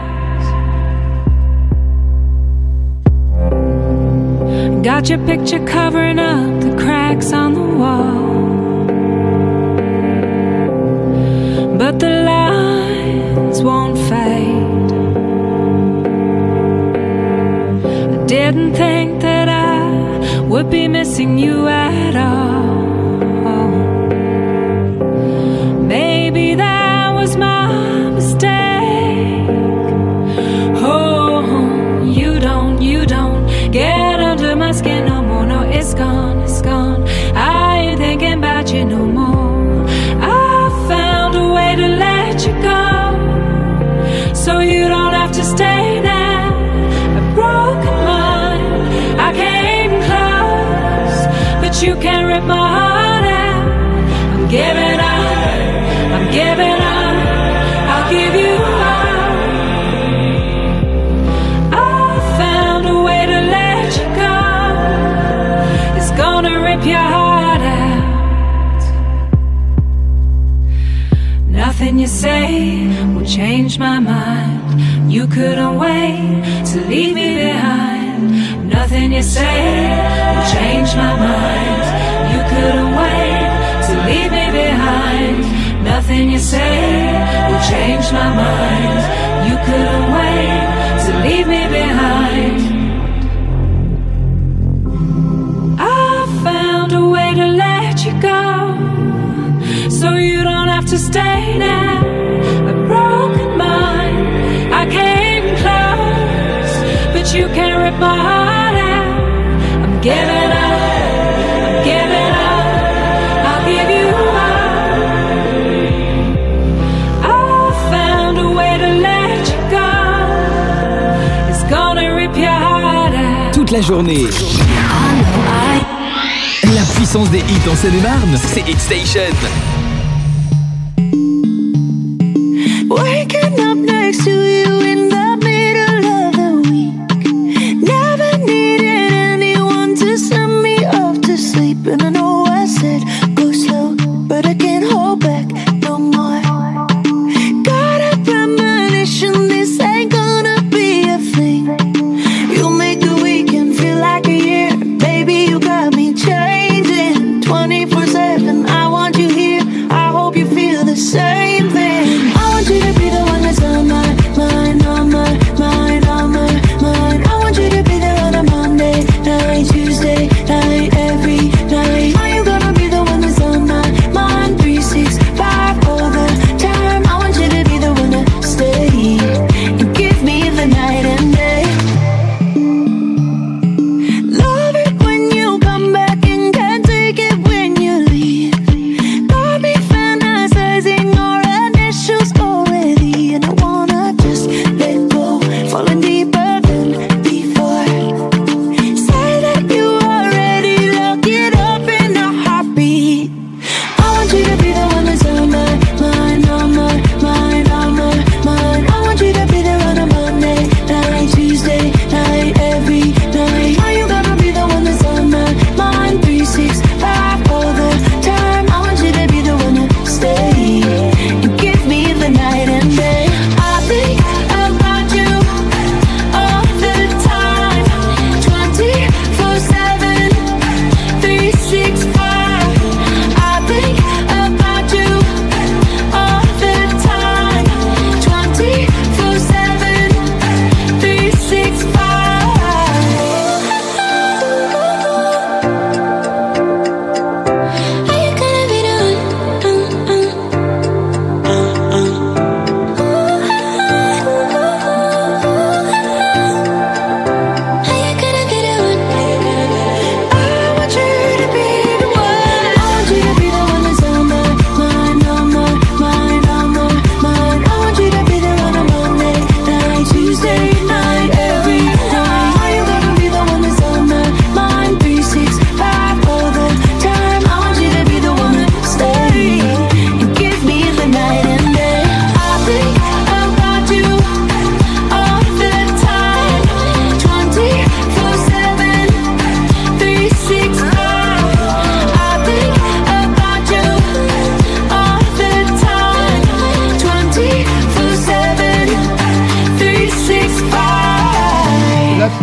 Got your picture covering up the cracks on the wall, but the lines won't fade. I didn't think that I would be missing you at all. Maybe that was my mistake. Oh, you don't get under my skin no more. No, it's gone, it's gone. I ain't thinking about you no more. I found a way to let you go, so you don't have to stay now. A broken mind, I came close, but you can't rip my heart out. I'm giving up, I'm giving up, I'll give you up. I found a way to let you go, it's gonna rip your heart out. Nothing you say will change my mind. You couldn't wait to leave me behind. Nothing you say will change my mind. You couldn't wait to leave me behind. Nothing you say will change my mind. You couldn't wait to leave me behind. I found a way to let you go, so you don't have to stay now. A broken mind, I came close, but you can't rip my heart out. I'm giving up, I'm giving up, I'll give you up. I found a way to let you go, it's gonna rip your heart out. Toute la journée. La puissance des hits en Seine-et-Marne, c'est Hit Station. Waking up next to you in the middle of the week. Never needed anyone to send me off to sleep. And I know I said go slow, but I can't hold back no more. Got a premonition, this ain't gonna be a thing. You make the weekend feel like a year. Baby, you got me changing 24/7, I want you here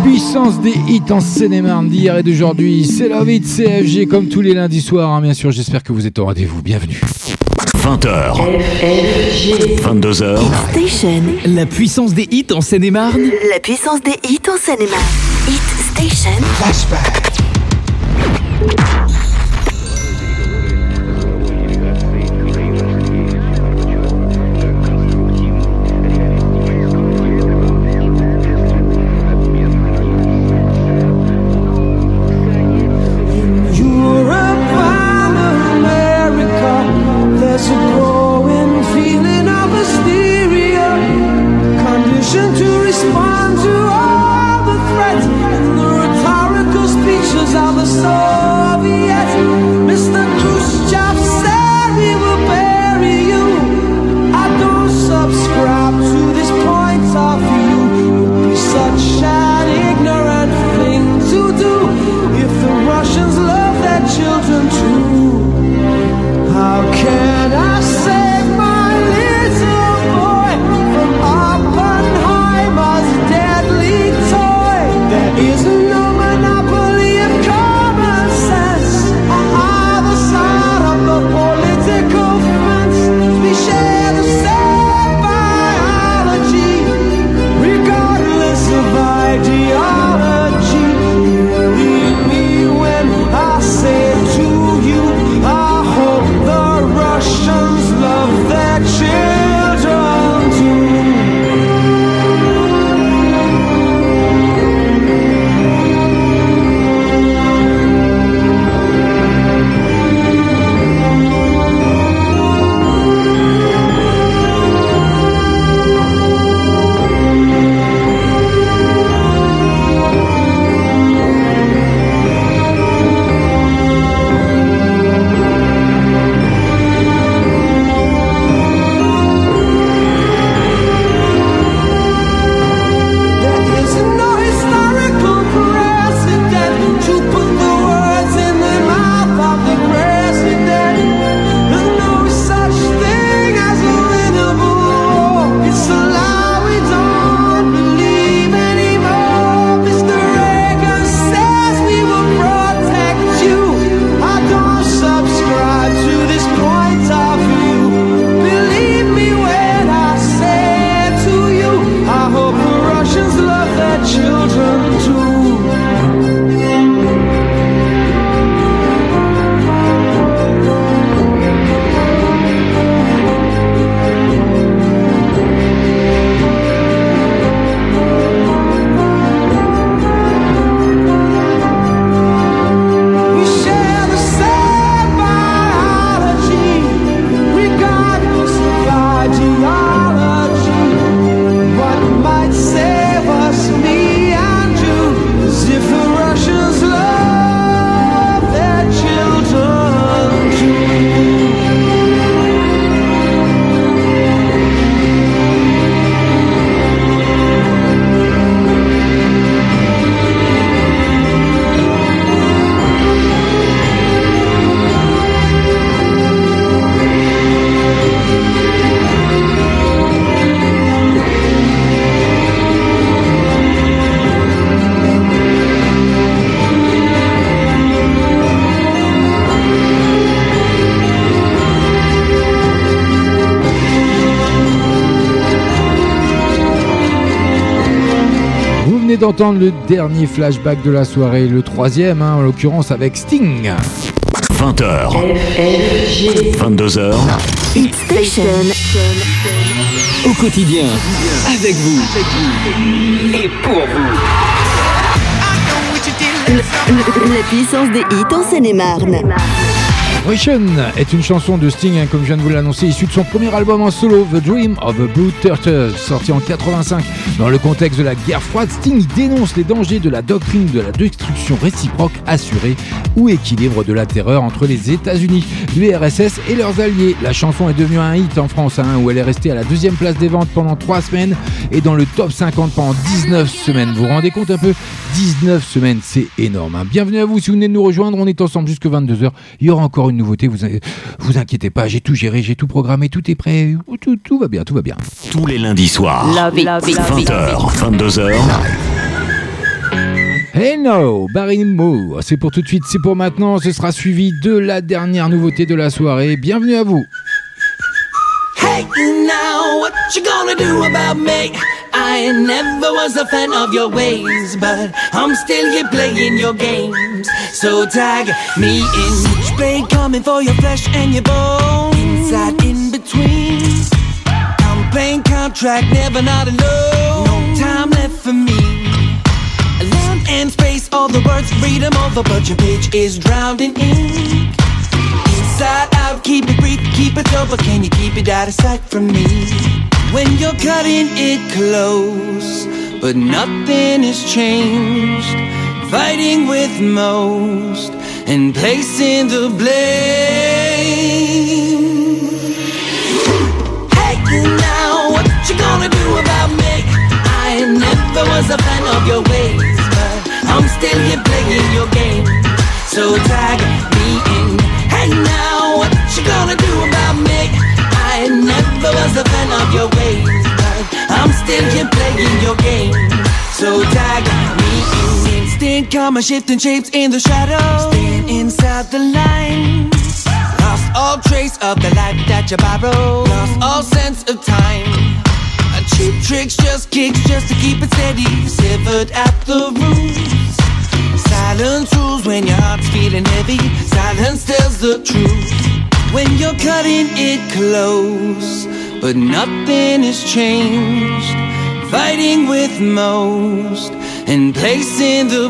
puissance des hits en Seine-et-Marne d'hier et d'aujourd'hui. C'est Love It CFG comme tous les lundis soirs, hein, bien sûr. J'espère que vous êtes au rendez-vous. Bienvenue. 20h. 22h. Hit Station. La puissance des hits en Seine-et-Marne. La puissance des hits en Seine-et-Marne. Hit Station. Flashback. To respond to all the threats and the rhetorical speeches of the Soviets. Mr. Khrushchev said we will bury you. I don't subscribe to this point of view. It would be such an ignorant thing to do if the Russians love their children too. How can I save my little boy from Oppenheimer's deadly toy? There is no monopoly of common sense on either side of the political fence. We share the same biology, regardless of ideology. Believe me when I say to you, I hope the Russians love their children too. There is no historical precedent to put the words in the mouth of the president. There's no such thing as a winnable war. It's a lie we don't believe anymore. Mr. Reagan says we will protect you. I don't subscribe to this point of view. Believe me when I say to you, I hope the Russians love their children too. We share the same biology, regardless of ideology. What might save us, me and you, is if the Russians love their children too. Vous venez d'entendre le dernier flashback de la soirée, le troisième, hein, en l'occurrence avec Sting. 20h. 22h. Hit Station. Au quotidien, avec vous et pour vous. La puissance des hits en Seine-et-Marne. Vibration est une chanson de Sting, hein, comme je viens de vous l'annoncer, issue de son premier album en solo, The Dream of a Blue Turtle, sorti en 85. Dans le contexte de la guerre froide, Sting dénonce les dangers de la doctrine de la destruction réciproque assurée ou équilibre de la terreur entre les États-Unis, l'URSS et leurs alliés. La chanson est devenue un hit en France, hein, où elle est restée à la deuxième place des ventes pendant 3 semaines et dans le top 50 pendant 19 semaines. Vous vous rendez compte un peu ? 19 semaines, c'est énorme. Hein. Bienvenue à vous, si vous venez de nous rejoindre, on est ensemble jusque 22h. Il y aura encore une nouveauté, vous inquiétez pas, j'ai tout géré, j'ai tout programmé, tout est prêt, tout va bien, tout va bien. Tous les lundis soirs, 20h, 22h. Hey no, Barry Mo, c'est pour tout de suite, c'est pour maintenant, ce sera suivi de la dernière nouveauté de la soirée. Bienvenue à vous. Hey now, what you gonna do about me? I never was a fan of your ways, but I'm still here playing your games. So tag me in. Switchblade coming for your flesh and your bones. Inside, in between. I'm playing contract, never not alone. No time left for me. Land and space, all the words, read them over, but your page is drowned in ink. Inside out, keep it brief, keep it over. Can you keep it out of sight from me? When you're cutting it close, but nothing has changed. Fighting with most and placing the blame. Hey now, what you gonna do about me? I never was a fan of your ways, but I'm still here playing your game. So tag me in. Hey now, what you gonna do about me? I never was a fan of your ways, but I'm still here playing your game. So tag me in. Instant karma shifting shapes in the shadows. Staying inside the lines. Lost all trace of the life that you borrowed. Lost all sense of time. Cheap tricks, just kicks, just to keep it steady. Severed at the roots. Silence rules when your heart's feeling heavy. Silence tells the truth when you're cutting it close, but nothing has changed. Fighting with most and placing the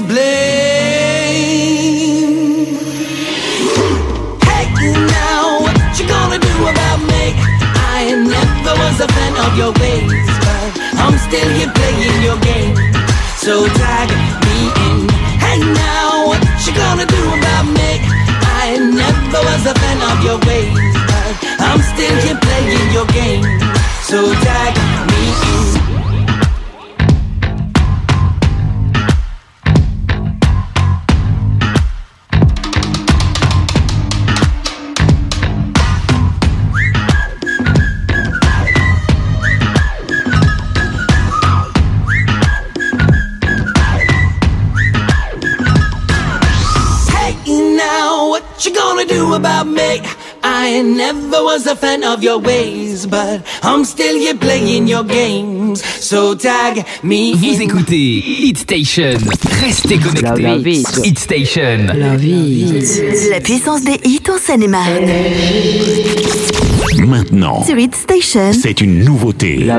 blame. Hey now, what you gonna do about me? I never was a fan of your ways, but I'm still here playing your game. So tag me in. Hey now, what you gonna do about me? I never was a fan of your ways, but I'm still here playing your game. So tag me in. What you gonna do about me? I never was a fan of your ways, but I'm still here playing your games. So tag me in. Vous écoutez Hit Station. Restez connectés. Hit Station. La puissance des hits en Seine-et-Marne. Maintenant, Sur Hit Station, c'est une nouveauté. I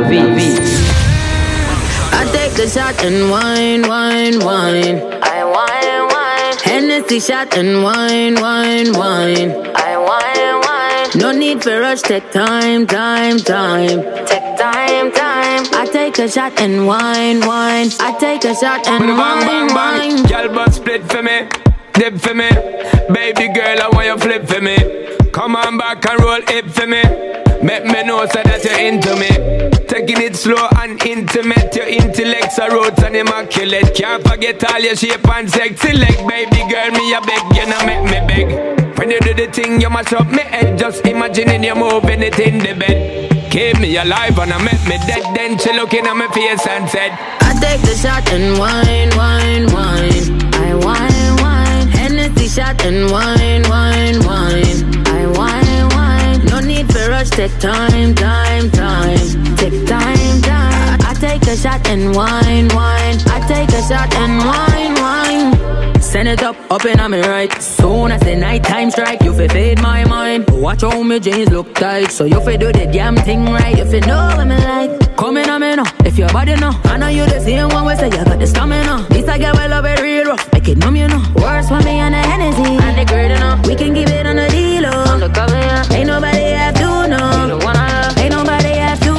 take the shot and wine, wine, wine. I wine, wine. Hennessy shot and wine, wine, wine. I wine, wine. No need for rush, take time, time, time. Take time, time. I take a shot and wine, wine. I take a shot and wine, wine. Y'all but split for me, dip for me. Baby girl, I want you flip for me. Come on back and roll it for me. Make me know so that you're into me. Taking it slow and intimate. Your intellect's a roots and immaculate. Can't forget all your shape and sexy leg. Baby girl, me a beg, you know make me beg. When you do the thing, you mash up me head. Just imagining you moving it in the bed. Keep me alive and I make me dead. Then she looking at my face and said, I take the shot and wine, wine, wine. I wine, wine. Hennessy shot and wine, wine, wine. I wine, wine. No need for rush, take time, time, time. Take time, time. I take a shot and wine, wine. I take a shot and wine, wine. Send it up in on me right. Soon as the night time strike, you fi fade my mind. Watch how me jeans look tight, so you fi do the damn thing right. You fi know what me like. Come in on me now, if your body know. I know you the same one we say you got the stamina. This I get well love it real rough, make it numb you know. Worse for me on the Hennessy and the great enough. We can give it on the deal, on the cover, yeah. Ain't nobody have to know. You the one I love. Ain't nobody have to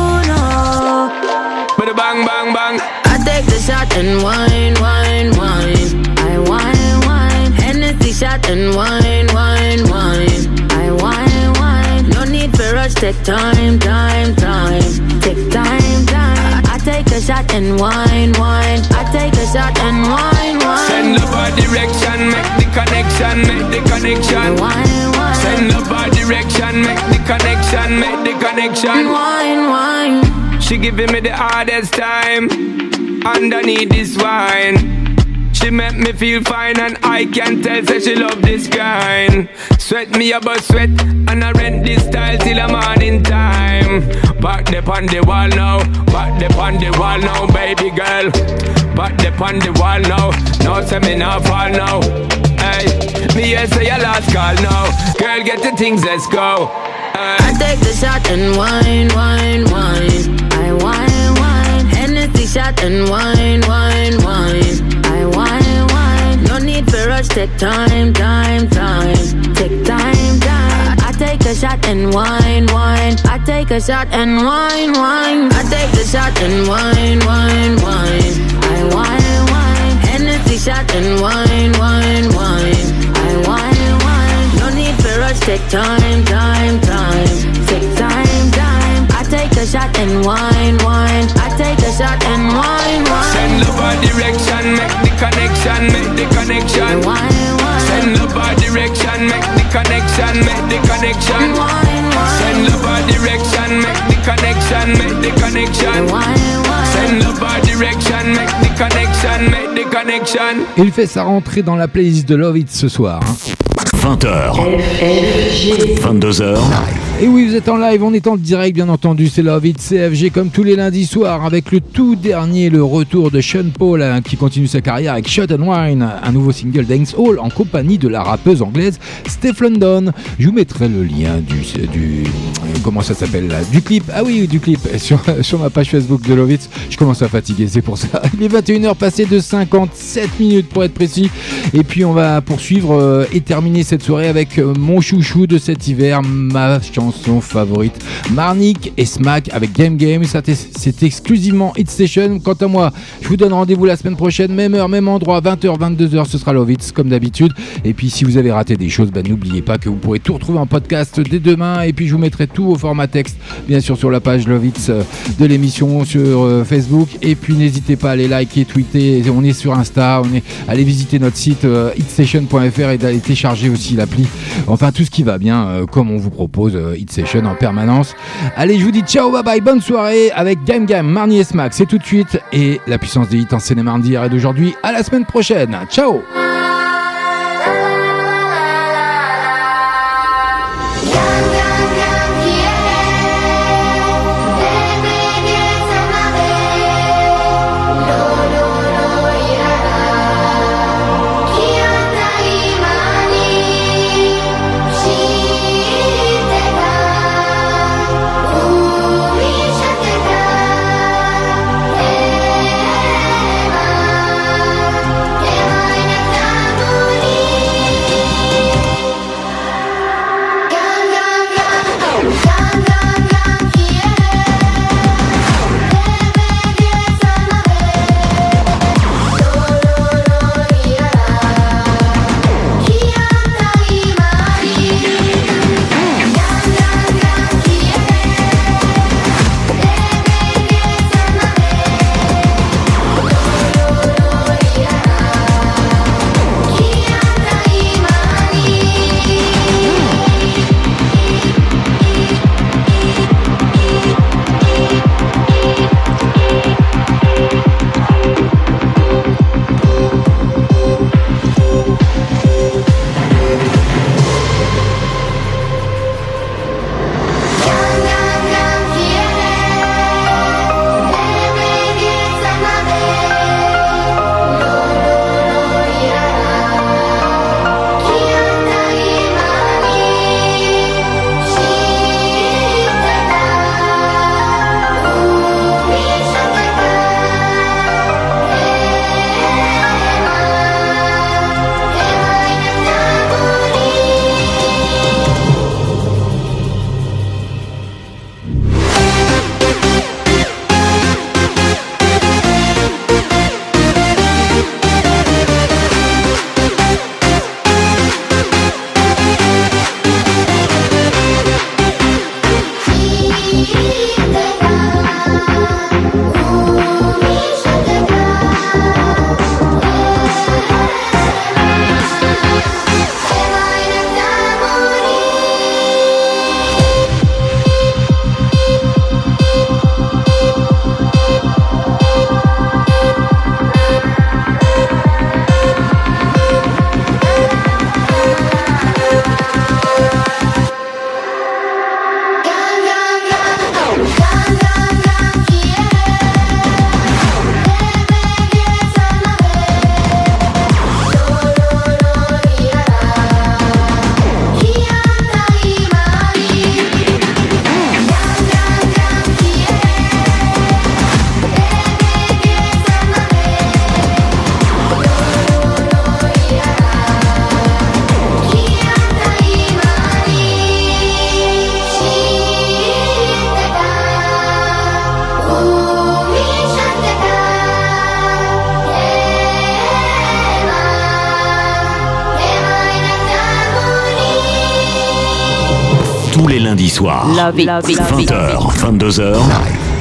know. but a bang, bang, bang. I take the shot and wine, wine, wine. I wine, wine. Hennessy shot and wine, wine, wine. I wine, wine. No need for rush, take time, time, time. Take time, time. I take a shot and wine, wine. I take a shot and wine, wine. Send love our direction, make the connection, make the connection. Wine, wine. Send love our direction, make the connection, make the connection. Wine, wine. She giving me the hardest time underneath this wine. She make me feel fine and I can tell say she love this kind. Sweat me about sweat and I rent this style till the morning time. Back the on the wall now, back the on the wall now, baby girl. Back the on the wall now, no say me not fall now. Hey, me here say your last call now. Girl, get the things, let's go. I take the shot and wine, wine, wine. I wine, wine. Hennessy shot and wine, wine, wine. I wine, wine. No need for rush, take time, time, time. Take time, time. I take a shot and wine, wine. I take a shot and wine, wine. I take the shot and wine, wine, wine. I wine, wine. Hennessy shot and wine, wine, wine. I wine, wine. No need for rush, take time, time, time. Take time, time. I take a shot and wine, wine. I take a shot and wine, wine. Send love a direction, make the connection, make the connection. Wine, wine. Send love a direction, make the connection, make the connection. Wine, wine. Send love a direction, make the connection, make the connection. Wine, wine. Send love a direction, make the connection, make the connection. Il fait sa rentrée dans la playlist de Love It ce soir. 20h, 22h. Et oui, vous êtes en live, on est en direct bien entendu, c'est Love It CFG comme tous les lundis soirs avec le tout dernier, le retour de Sean Paul qui continue sa carrière avec Shot and Wine, un nouveau single Dancehall en compagnie de la rappeuse anglaise Steph London. Je vous mettrai le lien du comment ça s'appelle là, du clip, ah oui du clip sur ma page Facebook de Love It. Je commence à fatiguer, c'est pour ça. Il est 21h passé de 57 minutes pour être précis et puis on va poursuivre et terminer cette soirée avec mon chouchou de cet hiver, ma chanson favorite, Marnik et Smack avec Game Game. Ça c'est exclusivement Hit Station. Quant à moi, je vous donne rendez-vous la semaine prochaine, même heure, même endroit, 20h, 22h, ce sera Love It comme d'habitude. Et puis si vous avez raté des choses, n'oubliez pas que vous pourrez tout retrouver en podcast dès demain. Et puis je vous mettrai tout au format texte, bien sûr sur la page Love It de l'émission sur Facebook. Et puis n'hésitez pas à aller liker, tweeter. On est sur Insta, allez visiter notre site hitstation.fr et d'aller télécharger aussi l'appli. Enfin tout ce qui va bien, comme on vous propose Hit Session en permanence. Allez, je vous dis ciao, bye bye, bonne soirée avec Game Game, Marnie et Smack, c'est tout de suite. Et la puissance des hits en Seine-et-Marne d'hier et d'aujourd'hui. À la semaine prochaine. Ciao. Time tous les lundis soirs. 20h, 22h.